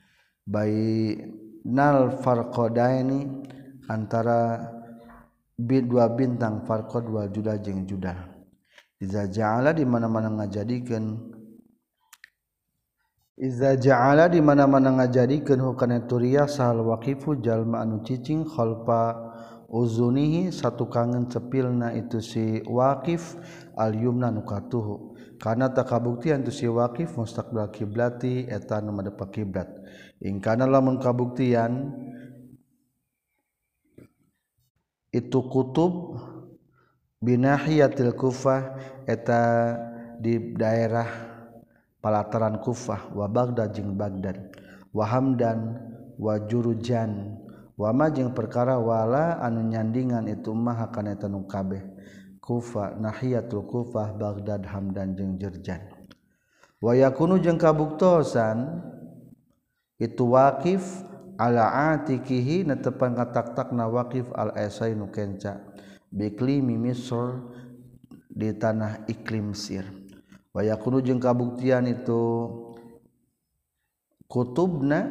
bainal farqadaini antara dua bintang farqad wal judah jeung judah iza ja'ala di mana-mana ngajadikeun hukana turiya sahal waqifu jalma anu cicing khalfa uzunihi satu kangen cepilna itu si waqif al yumna nu katuhu kana takabuktian tu si waqif mustaqbil kiblati eta nu madep kiblat in kana lamun kabuktian itu kutub binahiyatil Kufah eta di daerah palataran Kufah wa Baghdad jeung Baghdad wa Hamdan wa Jurujan wa ma jeung perkara wala anu nyandingan itu mah kana eta nu kabeh Kufah nahiyatul Kufah Baghdad Hamdan jeung Jurjan wa yakunu jeung kabuktosan itu waqif ala atikihi netepan katak-takna waqif al asainu kenca biklimi Misr di tanah iklim Mesir wa yakunu jeung kabuktian itu kutubna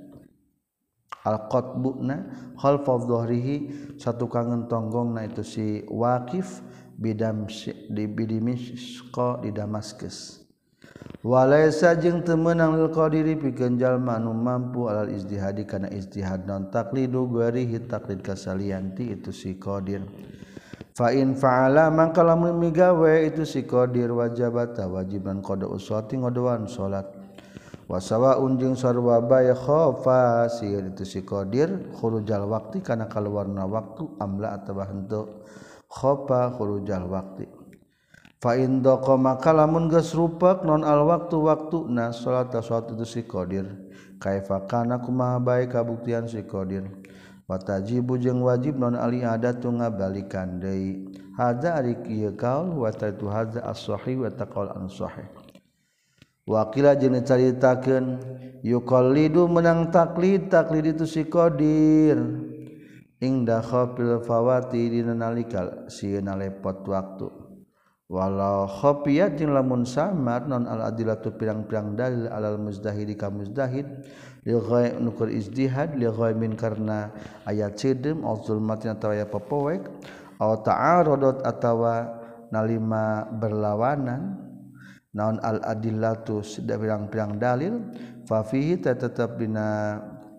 al-qatbuna khalfa dhahrihi satu kangen tonggongna itu si waqif bidam di Dimishq di Damaskus walaysa jeung teu meunang lil qadiri pikeun jalma anu mampu alal ijtihadi kana ijtihad non taqlidu ghairihi taqlid kasalianti itu si qadir fa in fa'ala mangka lamun migawe itu si qadir wajibata wajiban qada usati ngodoan salat wasawaun jeung sarua bae khofa sieun itu si qadir khurujal waqti kana kaluarna waktu amla atawa henteu khofa khurujal waqti fa in daqa maka lamun geus rupak non al waktuna salat itu si qadir kaifa kana kumaha bae kabuktian si qadir wa tajibu jeung wajib non ali adatu ngabalikan deui hadza ari kieu kaul wa tatu hadza as-sahih wa taqal an sahih Wakila jeung dicaritakeun yuqallidu menang taklid itu si qadir ingda khafil fawati dina nalika sieuna lepot waktu walau khafiyat jeung lamun samar non al adillatu pirang-pirang dalil alal muzdahid ka muzdahid li ghaib nukur izdihad li ghaibin karna ayat cidem au zulmatin atawa aya popowek au ta'aradot atawa nalima berlawanan naon al adillatu da pirang-pirang dalil fa fihi tetep dina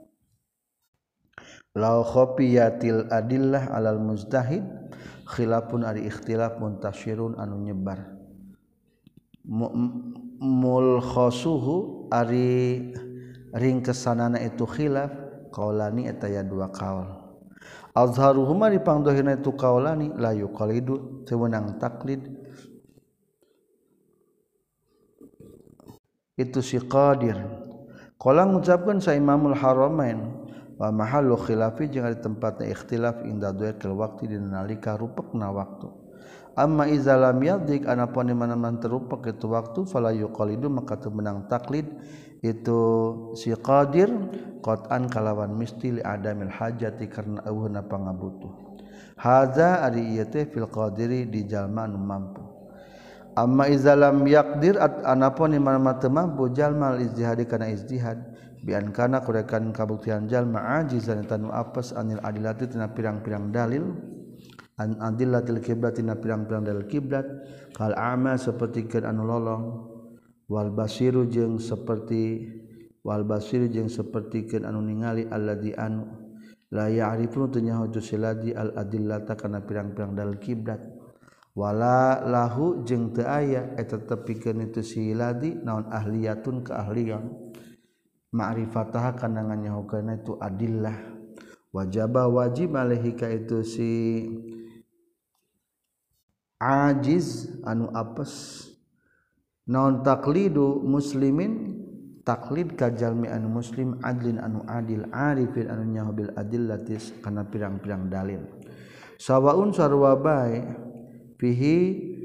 law khafiyatil adillah alal mujtahid khilafun ari ikhtilaf muntasyirun anu nyebar mulkhasuhu ari ringkesanana itu khilaf qaulani eta ya dua qaul azharuhuma dipangdohina itu qaulani la yuqalidu teu meunang taklid itu si qadir qala ngucapkeun sa Imamul Haramain wa mahallu khilafi jeung ari tempatna ikhtilaf inda duatil waqti dina nalika rupekna waktu amma iza lam yadik anapun di mana-mana terupek itu waktu fala yuqalidu maka teu menang taklid itu si qadir qat'an kalawan misti li adamil hajati karna eueuna pangabutuh hadza ari ieu teh fil qadiri di jalma anu mampu amma iza lam yaqdir anapun imana teu mampu jalma ijtihadi kana ijtihad bi an kana kurekan kabuktian jalma ajizan tanu apes anil adilati tina pirang-pirang dalil an adillatil qiblat tina pirang-pirang dalil kiblat kal a'ma sapertikeun anu lolong wal basiru jeung sapertikeun anu ningali alladzi anu la ya'rifu teu nyaho tu siladi al adillata kana pirang-pirang dalil kiblat wala lahu jeung teu aya eta tepikeun itu si ladi naon ahliyatun keahlian ma'rifataha kana nganyahokeun itu adillah wajaba wajib alaihi ka itu si ajiz anu apes naon taklidu muslimin taklid ka jalmi anu muslim adlin anu adil arifin anu nyaho bil adillatis kana pirang-pirang dalil sawaun sarua bae fihi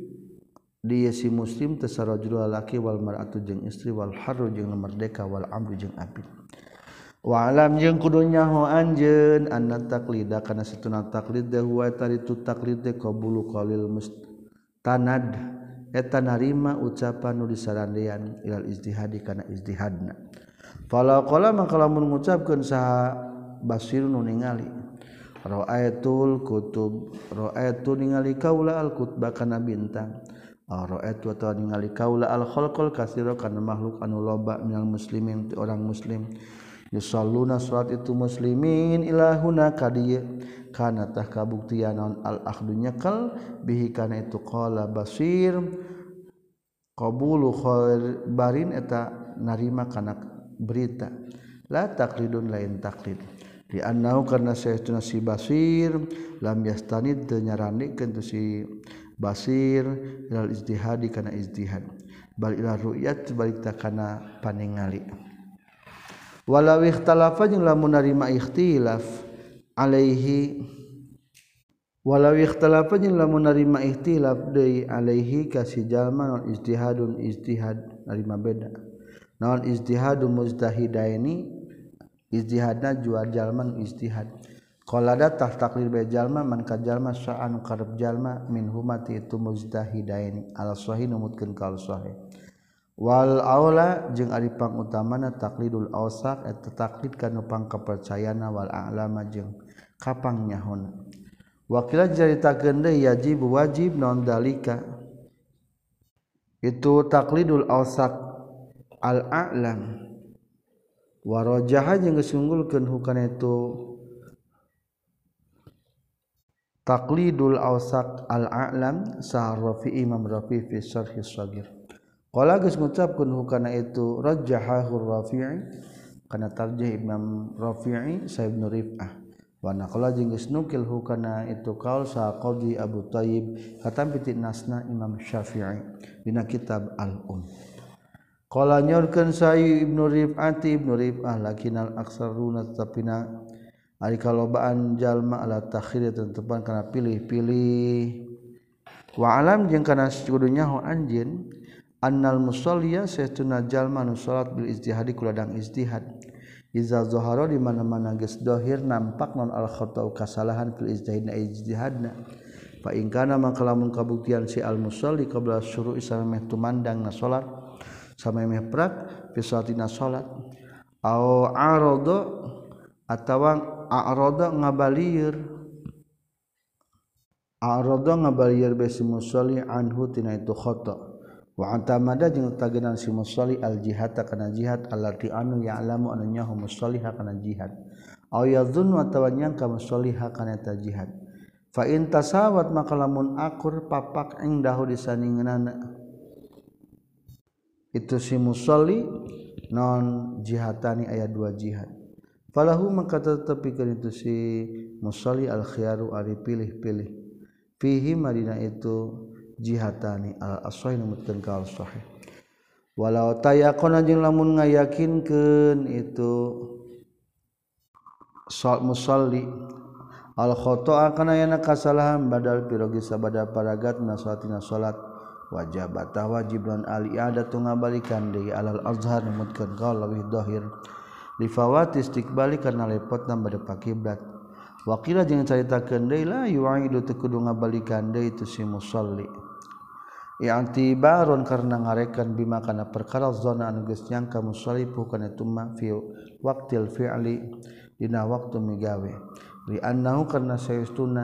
dia si muslim tasarrajul laki wal mar'atu jeung istri wal harru jeung merdeka wal amru jeung abid wa alam jeung kudu nyaho anjeun anna taqlida kana satuna taqlid huwa taritu taqlid qabulu qalil mustanad eta narima ucapan nu disarandean ilal ijtihadi kana ijtihadna fala qala maka lamun ngucapkeun saha basirun nu ningali ra'aitul kutub ra'aitu ningali kaula al kutba kana bintang ra'aitu atawa ningali kaula al khalqal katsira kana makhluk anu loba minal muslimin ti orang muslim yusalluna salat itu muslimin ilahuna kadieu kana tah kabuktian naon al akhdunya kal bihi kana itu qala basir qabulu khabarin eta narima kana berita la taqlidun lain taqlid di annahu karna saytuna si basir lam yastanid teu nyaranikeun tu si basir ilal ijtihadi kana ijtihad bal ila ru'yat balik ta kana paningali walau ikhtalafa jeung lamun narima ikhtilaf alaihi walau ikhtalafa jeung lamun narima ikhtilaf deui alaihi ka si jalma non ijtihadun ijtihad narima beda naon ijtihadu mujtahidaini ijtihadna jual jalman ijtihad qalada tah taklid bae jalma man ka jalma sa'an qarab jalma min humati itu mujtahidain al sahih numutkeun ka al sahih wal aula jeung ari pangutamana taklidul awsaq eta taklid kana pangkapercayana wal a'lama jeung kapang nyahona wakila jaritakeun deui yajib wajib naon dalika itu taklidul awsaq al a'lam warajaha jeung geus hukana itu taqlidul awsaq al a'lam sa Rafi Imam Rafi fi syarh as-saghir qala geus ngucapkeun hukana itu rajjahahu Rafi'i kana tarjih Imam Rafi'i sa Ibnu Rif'ah wa naqala jeung geus nukil hukana itu qaul sa Qadhi Abu Thayyib katampi ti nasna Imam Syafi'i dina kitab Al-Um. Qala nyorkeun sa Ibnu Rif'ah lakinal aksaruna tapina ari kalobaan jalma ala takhir tentupan kana pilih-pilih wa alam jeung kana kudu nyaho anjeun annal musalliya saytuna jalma nu salat bil ijtihadi kuladang ijtihad iza zahara di mana-mana geus zahir nampak non al khata'u kasalahan fil ijtihadna fa in kana maka lamun kabuktian si al musalli qabla syuru'i samemeh tumandangna salat samemeh prak fi salatina salat au arada atawa arada ngabalieur besi musalli anhu tina itu khata' wa antamada jeung tagenan si musalli al jihata kana jihad allati anu ya'lamu anu nyaho musalli kana jihad aw yadhunnu atawa nyangka musalli kana ta jihad fa in tasawat maka lamun akur papak engdahu disaningeunana itu si musalli non jihatani aya dua jihad falahu maka tetepikeun itu si musalli al khiyaru ari pilih-pilih fihi madina itu jihatani al-aswahih numutkeun ka al-sahih walau tayaqana jeung lamun ngayakinkeun itu musalli al-khata'a kana yana kasalahan badal pirogi sabada paragatna salatina salat wajib lan al-i'adatu ngabalikan deui alal azhar numutkeun ka leuwih dhahir li fawati istiqbali kana lepotna bade pakiblat waqila jeung caritakeun deui la yu'idu teu kudu ngabalikan deui itu si musalli i'tibaron karena ngarekan bima kana perkara zona anu geus nyangka musalli kana tumma fi waqtil fi'li dina waktu migawe li annahu karna sayastuna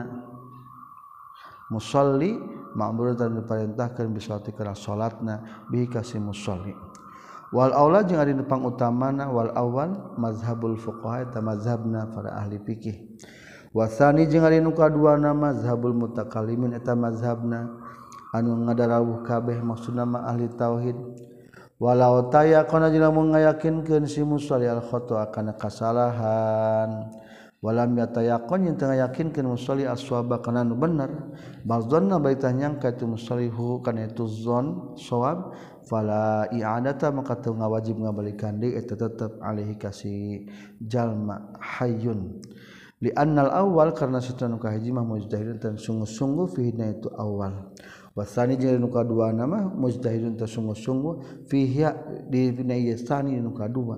musalli ma'muratan diperintahkeun bisalati kana salatna bihi kasih musalli wal aula jeung ari nepang utamana wal awal mazhabul fuqaha ta mazhabna para ahli fikih wasani jeung ari nu kaduana mazhabul mutakallimin eta mazhabna anu ngadarawuh kabeh maksudna mah ahli tauhid walau tayaqana jeung lamun ngayakinkeun si musalli al khata' kana kasalahan walam yatayaqan yang teu ngayakinkeun musalli as-shawaba kana nu bener bazanna baitah nyangka itu musalli hu kana itu zon shawab fala i'adata maka teu ngawajib ngabalikeun deui eta tetep alaihi kasih jalma hayyun li annal awal karna satuna kahiji mah mujtahidun tan sungguh-sungguh fi itu awal wasani jeung nu kadua nama mujtahidun ta sungguh-sungguh fihi di binayasani nu kadua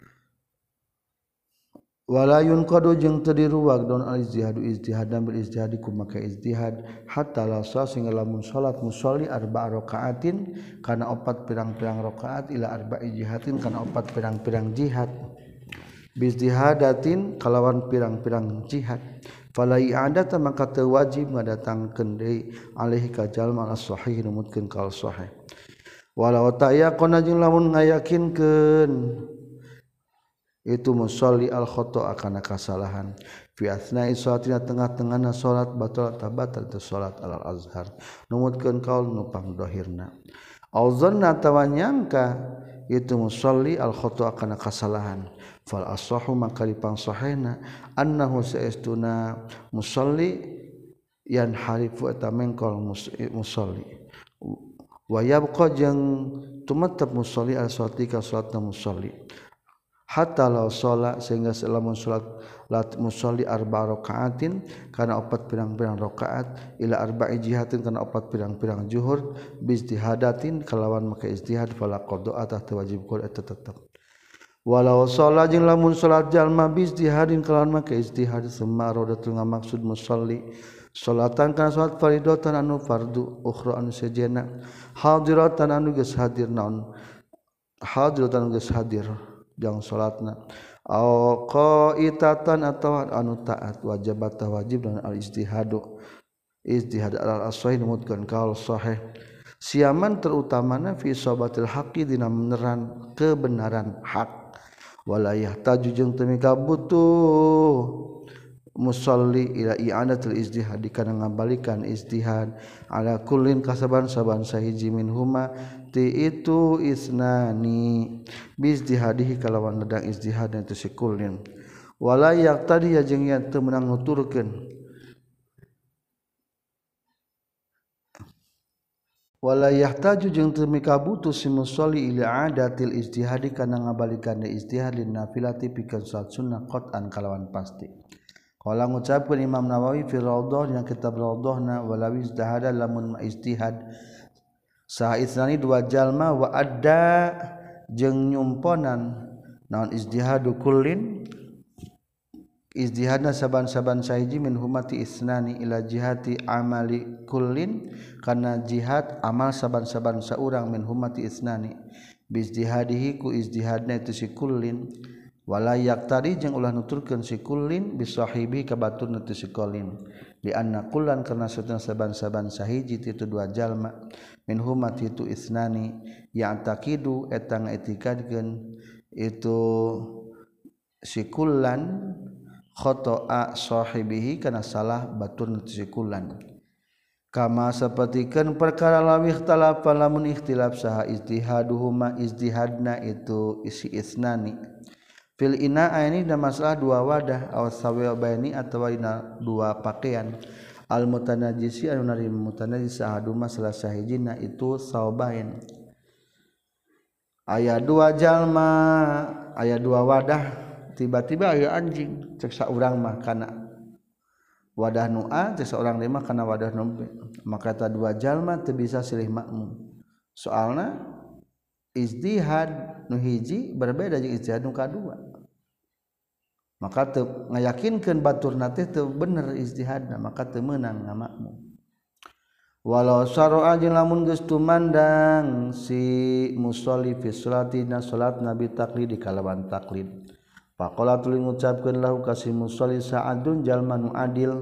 wala yunqadu jeung teu diruwag don al ijtihadu ijtihadan bil ijtihadi kumaka ijtihad hatta la sehingga lamun salat musalli arba rakaatin kana 4 pirang-pirang rakaat ila arba'i jihatin kana 4 pirang-pirang jihad bijtihadatin kalawan pirang-pirang jihad fala i'adata maka teu wajib ngadatangkeun deui alaihi ka jalma as-sahih numutkeun ka sahih walau tayaqana jeung lamun ngayakinkeun itu musalli al khata' kana kasalahan fi asna'i salatina tengah-tengahna salat batal tabatal tu salat alal azhar numutkeun kaul nu pangdohirna auzanna tawanyangka itu musalli al khata' kana kasalahan fal ashahu maka dipang sahihna annahu saestuna musalli yanharifu eta mengkol musalli wa yabqa jeung tumatab musalli al salati ka salatna musalli hatta law sholat sehingga selamun salat lat musalli arba rakaatin kana 4 pirang-pirang rakaat ila arba'i jihatin kana 4 pirang-pirang zuhur bi ijtihadatin kalawan maka ijtihad fala qada atah wajib qul eta tetep walau sholat jeung lamun salat jalma bi ijtihadin kalawan maka ijtihad summa radatu ngamaksud musalli salatan kana salat faridatan anu fardu ukhra anu sejena hadiratan anu geus hadir naon hadiratan anu geus hadir jang salatna au qaitatan atawa anu taat wajibat wajib dan al ijtihad al asahih numutkeun kaul sahih siaman terutamana fi sabatil haqqi dina meneran kebenaran hak wala yahtaju jeung teu mika butuh musolli ila i'anatul ijtihad kana ngabalikan ijtihad ala kullin kasaban-saban sahiji minhuma ti itu isnani bijtihadihi kalawan ledang ijtihad itu si kullin wala yaqtadi ya jeung yen teu meunang nuturkeun wala yahtaju jeung teu mikabutuh si musolli ila adatil ijtihadi kana ngabalikan ijtihad lin nafilati pikeun salat sunnah qat'an kalawan pasti. Qala ngucapkeun Imam Nawawi fi Raudhah dina kitab Raudhahna walawi ijtihada lamun ijtihad saha isnani dua jalma wa adda jeung nyumponan naon ijtihadu kullin ijtihadna saban-saban sahiji min humati isnani ila jihati amali kullin kana jihad amal saban-saban saurang min humati isnani bi ijtihadihi ku ijtihadna itu si kullin wala yaqtari jeung ulah nuturkeun si kullin bi sahibi ka baturna tu si kullin li anna kullan kana satuna saban-saban sahiji ti dua jalma min humati itu isnani yang taqidu eta ngaetikadkeun itu si kullan khata'a sahibihi kana salah baturna si kullan kama sapertikeun perkara lawih talafa lamun ikhtilaf saha ijtihaduhuma ijtihadna itu isi isnani fil ina'a ini da masalah dua wadah aw sawabaini atawa dina dua pakaian al mutanajjisi anu nari mutanajjis sahaduma salah sahijina itu sawabain aya dua jalma aya dua wadah tiba-tiba aya anjing cek saurang mah kana wadah nu A cek saurang mah kana wadah nu B maka eta dua jalma teu bisa silih makmum soalna ijtihad nu hiji berbeda jeung ijtihad nu kadua maka teu ngayakinkeun baturna teh teu bener ijtihadna maka teu meunang ngamakmum walau syara'a jeung lamun geus tumandang si musolli fi sholati na salat nabi taqlid kalawan taqlid faqala tuluy ngucapkeun lahu kasih musolli sa'adun jalma nu adil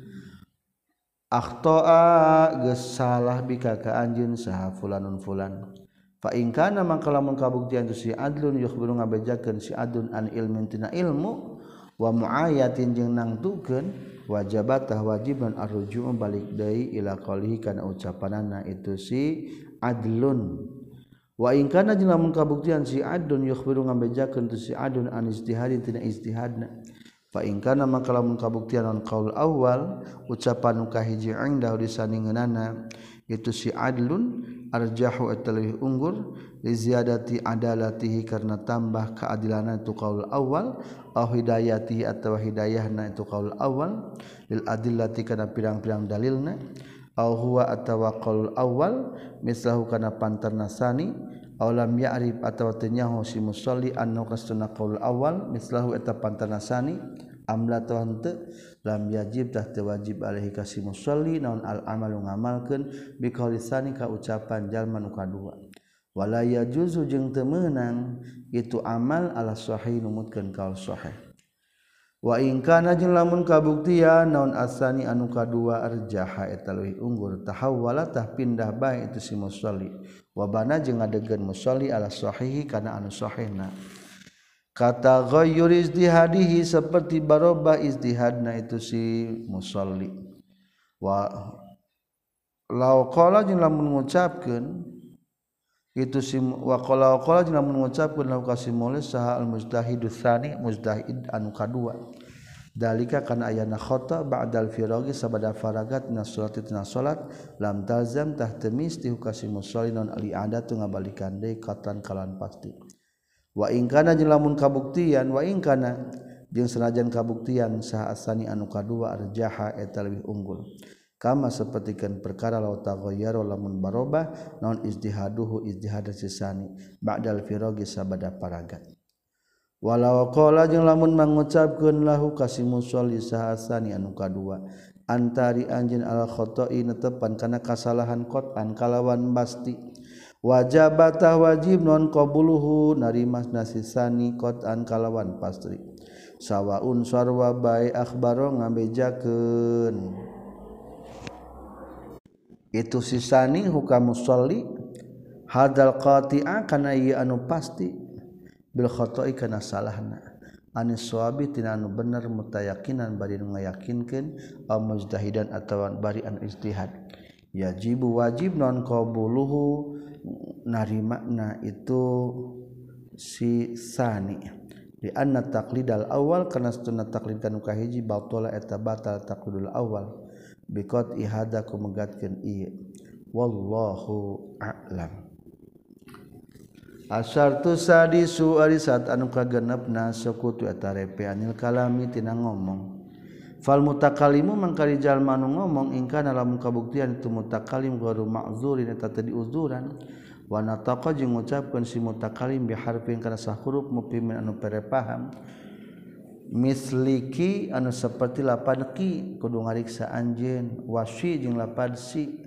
akhta'a geus salah bika ka anjeun saha fulanun fulan fa in kana mangka lamun kabuktian tu si adlun yukhbiru ngabejakeun si adun an ilmin tina ilmu wa muayatin jeung nangtukeun wajabatah wajiban arruju' balik deui ila qalihi kana ucapanana itu si adlun wa in kana jeung lamun kabuktian si adun yukhbiru ngabejakeun tu si adun an ijtihadin tina ijtihadna fa in kana maka lamun kabuktian on qaul awal ucapan nu kahiji indah disaningeunana itu si adlun arjahu atalih unggul li ziyadati adalatihi karena tambah keadilanna itu qaul awal au hidayatihi atawa hidayahna itu qaul awal lil adillati kana pirang-pirang dalilna au huwa atawa qaul awal mislahu kana pantarna sani aw lam ya'rif atawa teu nyaho si musolli anna qasduna qaul awal mislahu eta pantarna sani amla teu henteu lam yajib tah teu wajib alaihi kasih musolli naon al amalu ngamalkeun bi qauli sani ka ucapan jalma nu kadua wala yajuzu jeung teu meunang itu amal ala sahih numutkeun qaul sahih wa in kana jeung lamun kabuktian naon asani anu kadua arjaha eta leuwih unggul tahawwala tah pindah bae itu si musolli wa bana jeung ngadegeun musolli ala sahihi kana anu sahihna kata ghayyur ijtihadihi seperti barobah ijtihadna itu si musolli wa law qala jeung lamun ngucapkeun itu si wa qala jeung lamun ngucapkeun law kasimul saha al mujtahidus tsani mujtahid anu kadua dalika kana ayana khata ba'dal firagi sabada faragat na salati tina salat lam talzam tah temis ti kasim musallin ali adatu ngabalikan deui katan kalan pasti wa in kana jeung lamun kabuktian wa in kana jeung sanajan kabuktian saha asani anu kadua arjaha eta leuwih unggul kama sapertikeun perkara law taghayyara lamun barobah naon ijtihaduhu ijtihad sisani ba'dal firagi sabada faragat walau qala jeung lamun mangucapkeun lahu kasih musolli sahasani anu kadua antari anjeun al khata'i netepan kana kasalahan qatan kalawan pasti wajabatah wajib non qabuluhu narimas nasisani qatan kalawan pasti sawaun sarwa bae akhbaro ngabejakeun itu sisani hukam musolli hadal qati'a kana ieu anu pasti bil khata'i kana salahna anis sawabi tina anu bener mutayakinan bari nu ngayakinkeun aw mujtahidan atawa bari anu ijtihad yajibu wajib non qabuluhu narimana itu si sani di anna taqlidal awal kana sunna taqlid kanu kahiji batala eta batal taqlidul awal biqat ihada kumegatkeun ieu wallahu a'lam. Asyartu sadisu ari saat anu kagenepna sakutu eta repe anil kalami tina ngomong fal mutakallimu mangkari jalma anu ngomong ingkana lamun kabuktian itu mutakallim gharu ma'zurin eta tadi uzuran wa nataqa jeung ngucapkeun si mutakallim bi harfin kana sahuruf mufimin anu pere paham misliki anu saperti lapan ki kudu ngariksa anjeun wasyi jeung lapan si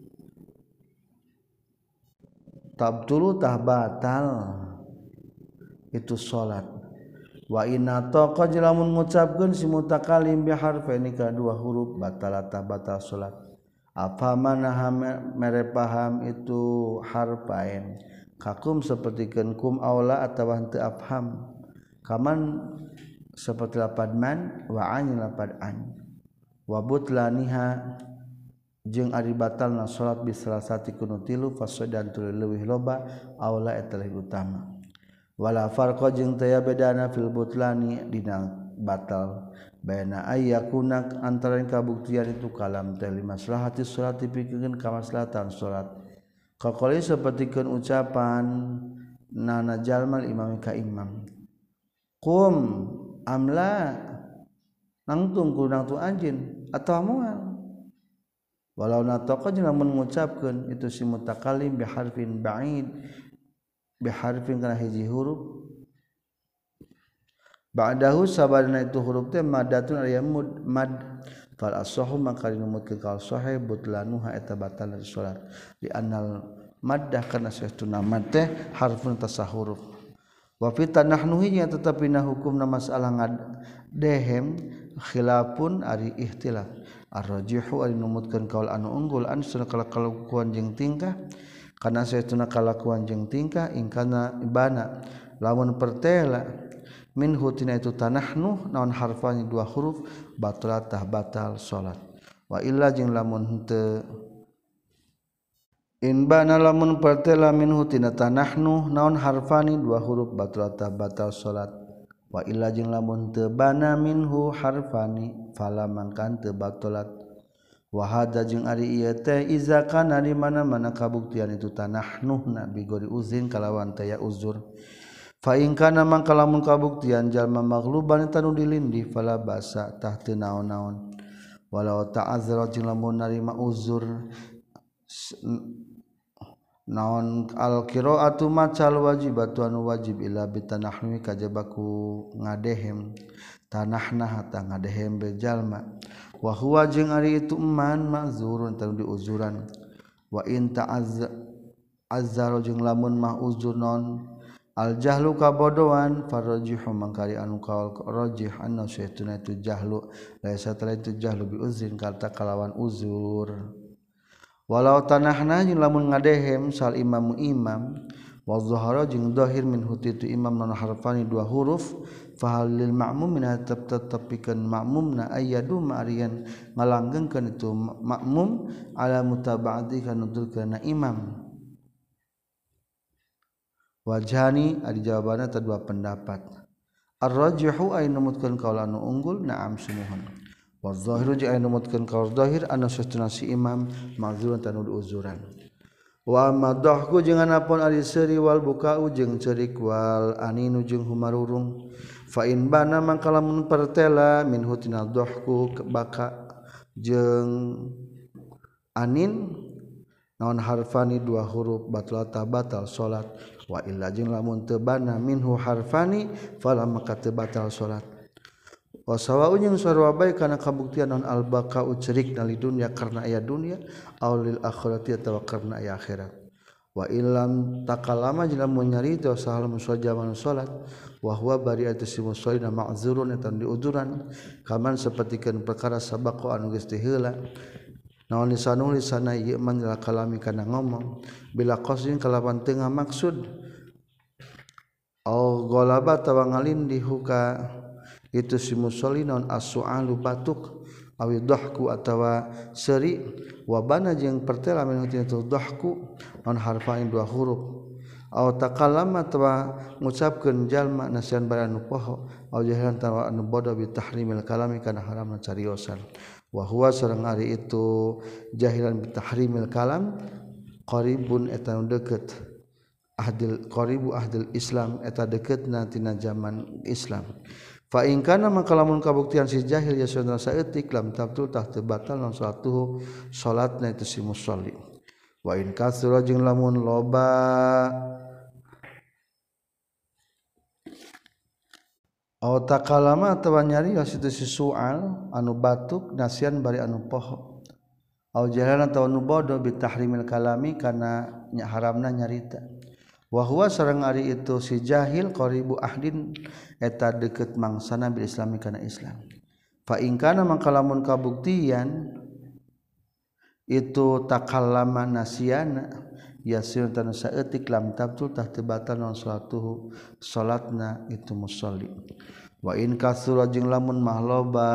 tabtulu tah batal itu salat wa inna taqa lamun ngucapkeun si mutakallim bi harfaini ka dua huruf batalata batal salat apa manaha mere paham itu harfain kakum sapertikeun kum aula atawa henteu afham kaman saperti lapad man wa an lapad an wa butlaniha jeung ari batalna salat bi salasati kunu tilu fasadan tuluy leuwih loba aula eta leuwih utama wala farqa jeung teu bedana fil butlani dina batal baina ayyakuna antara kabuktian itu kalam teh limaslahati salat dipikeun kamaslahatan salat qaqali sapertikeun ucapan nana jalmal imam ka imam qum amla nangtung kurang tu anjeun atawa moal walau nataqa jeung lamun ngucapkeun itu si mutakallim bi harfin ba'id bi harfin kana hiji huruf ba'dahu sabadana itu huruf teh madatun aya mad fal ashahu maka dinumutkeun ka sahih butlanuha eta batal salat di annal maddah kana saestuna mad teh harfun tasahuruf wa fi tanahnuhi tetapi na hukumna masalah ngadehem khilafun ari ikhtilaf ar-rajihu ari numutkeun kaul anu unggul ansuna kalakuan jeung tingkah kana saestuna kalakuan jeung tingkah ingkana ibana lamun pertela minhu tina itu tanahnu naon harfani dua huruf batalatah batal salat wa illa jeung lamun henteu in bana lamun pertela minhu tina tanahnu naon harfani dua huruf batalatah batal salat wa illa jeung lamun teu bana minhu harfani fala mangkan teu batalat wa hada jeung ari ieu teh iza kana di mana-mana kabuktian itu tanahnuhna bi gori uzin kalawan taya uzur fa in kana mangka lamun kabuktian jalma maghluban tanu dilindi fala basa tah teu naon-naon walau ta'azzara jeung lamun narima uzur naon al qiraatu macal wajibatu anu wajib ila bitanahmi kajabaku ngadehem tanahna hata ngadehem be jalma wa huwa jeung ari itu man ma'zurun tanu diuzuran wa in ta'azzara jeung lamun mah uzur non al jahlu kabodohan farajihu mangkari anu kaul rajih anna syaituna itu jahlu laisa tala itu jahlu bi uzrin kata kalawan uzur walau tanahna jeung lamun ngadehem sal imamu imam wa zahara jeung zahir min hutitu imam non harfani dua huruf fa halil ma'mum min tetepikeun ma'mumna ayyadu ma'riyan ngalanggengkeun itu ma'mum ala mutaba'ati kana nutulkeun imam wajhani ari jawabanna teh dua pendapat ar-rajihu ay numutkeun kaul anu unggul na'am sumuhun wa zahiru jeung ay numutkeun kaul zahir anu sesuna si imam ma'zurun tanu uzuran wa madahku jeung anapun ari seuri wal bukau jeung ceurik wal aninu jeung humarurung fa in bana mangka lamun pertela min hutina dhahku baka jeung anin naon harfani dua huruf batalata batal salat wa illa jeung lamun teu bana minhu harfani fala maka teu batal salat wa sawa'un jeung sarua bae kana kabuktian naon al baqa'u cerik na li dunya karna aya dunya aw lil akhirati atawa karna aya akhirat wa illam takallama jeung lamun nyarita sahal musajjaman salat wa huwa bari'atu simusaina ma'zurun eta diuduran kaman sapertikeun perkara sabaqo anu geus teu heula naon lisanul lisana ieu man kalami kana ngomong bila qasin kalawan teu ngamaksud au ghalaba tawa ngalindih ka itu si musolli naon as-su'alu batuk awi dhahku atawa seri wabana jeung pertela min itu dhahku non harfain dua huruf aw takallama atawa ngucapkeun jalma nasian bari anu poho aw jahilan tawa anu bodoh bi tahrimil kalami kana haramna cariosan wa huwa sareng ari itu jahilan bi tahrimil kalam qaribun eta deukeut qaribu ahdil Islam eta dekeutna tina zaman Islam fa in kana maka lamun kabuktian si jahil ya sunna saeutik lam tabtul tah teu batal naon salatuhu salatna itu si musolli wa in kasura jeung lamun loba aw takalama atawa nyarios itu si sual anu batuk nasian bari anu poho aw jahalan atawa anu bodoh bi tahrimil kalami kana haramna nyarita wa huwa sareng ari itu si jahil qaribu ahdin eta deukeut mangsana bil islami kana Islam fa in kana mangka lamun kabuktian itu takallama nasiana yasir tan saeutik lam tabtul tah teu batal naon salatuhu salatna itu musolli wa in kasura jeung lamun mah loba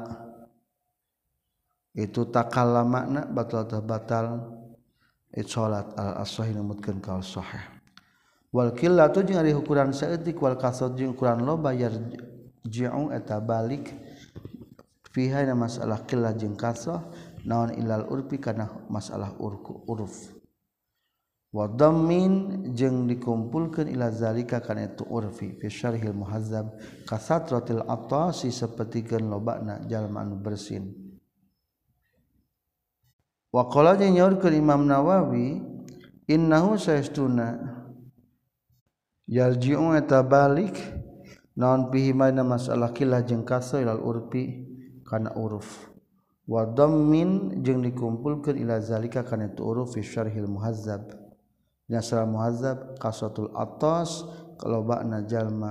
itu takallamana batal tah batal itu salat al as-sahih numutkeun ka sahih wal qillatu jeung ari ukuran saeutik wal kasrat jeung ukuran loba yarji'u eta balik fiha na masalah qillah jeung kasrah naon ilal urfi kana masalah uruf wa dhammin jeung dikumpulkeun ila zalika kana itu urfi fi syarhil muhazzab kasatratil atasi sapertikeun lobana jalma anu bersin wa qala jeung nyaurkeun Imam Nawawi innahu sayastuna yarji'u eta balik naon fihi mana masalah qillah jeung kasrah ilal urfi kana uruf wa dhammin jeung dikumpulkeun ila zalika kana itu uruf fi syarhil muhazzab nasal muhazzab qasatul atas kalobana jalma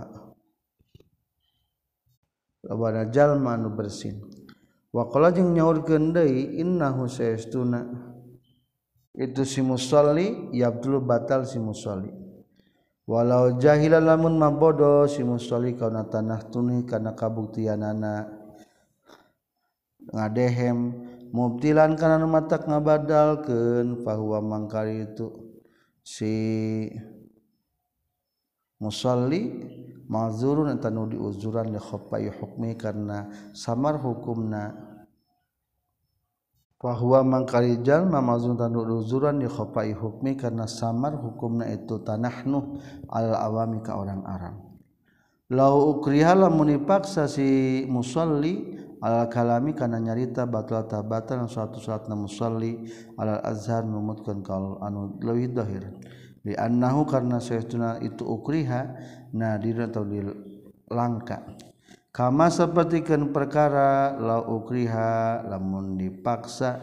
anu bersin wa qala jeung nyaurkeun deui innahu sayastuna itu si musolli yabdul batal si musolli walau jahilan lamun mabodo si musolli kauna tanah tuni kana kabuktianana ngadehem mubtilan kana nu matak ngabadalkeun fahuwa mangkari itu si musolli mazurun eta nu diuzuran li khafai hukmi karena samar hukumna fahuwa mangkari jalma mazurun tanu diuzuran li khafai hukmi karena samar hukumna itu tanahnu al awami ka orang Arab lau ukriha lamun dipaksa si musolli al kalami kana nyarita batal tabatan suatu salatna musolli al azhar numutkeun kaul anu leuwih zahir li annahu karna saytuna itu ukriha nadir atau dilangka kama sapertikeun perkara la ukriha lamun dipaksa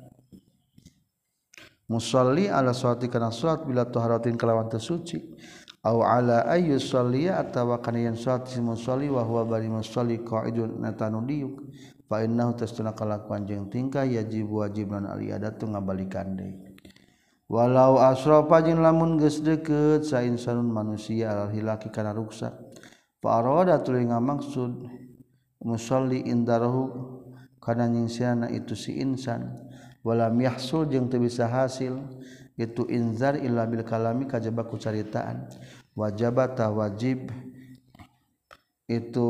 musolli ala salati kana salat bila taharatin kalawan teu suci au ala ayyu sholliya atawa kana yen salat si musolli wa huwa bari musolli qaidun natanu diuk fa innahu tasduna kalakuan jeung tingkah yajib wajibna aliyadatu ngabalikan deui walau asrafa jeung lamun geus deukeut sa insanun manusia al hilaki kana ruksak fa arada tuluy ngamaksud musolli indarahu kana nyingsiana itu si insan walam yahsul jeung teu bisa hasil itu inzar illa bil kalami kajaba ku caritaan wajibata wajib itu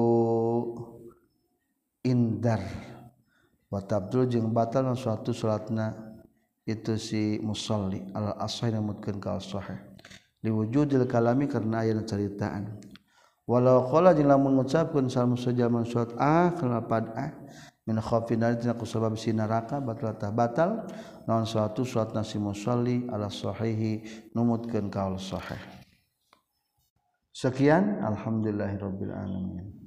indar wa tabdul jeung batal suatu salatna itu si musolli al ashai namutkeun ka sahih liwujudil kalami karena aya caritaan walau qala jeung lamun ngucapkeun sal musajjaman surat kelapad min khaufin tina kusabab si neraka batal naon suatu salat nasi musolli ala sahihi numutkeun kaul sahih. Sekian alhamdulillahirabbil alamin.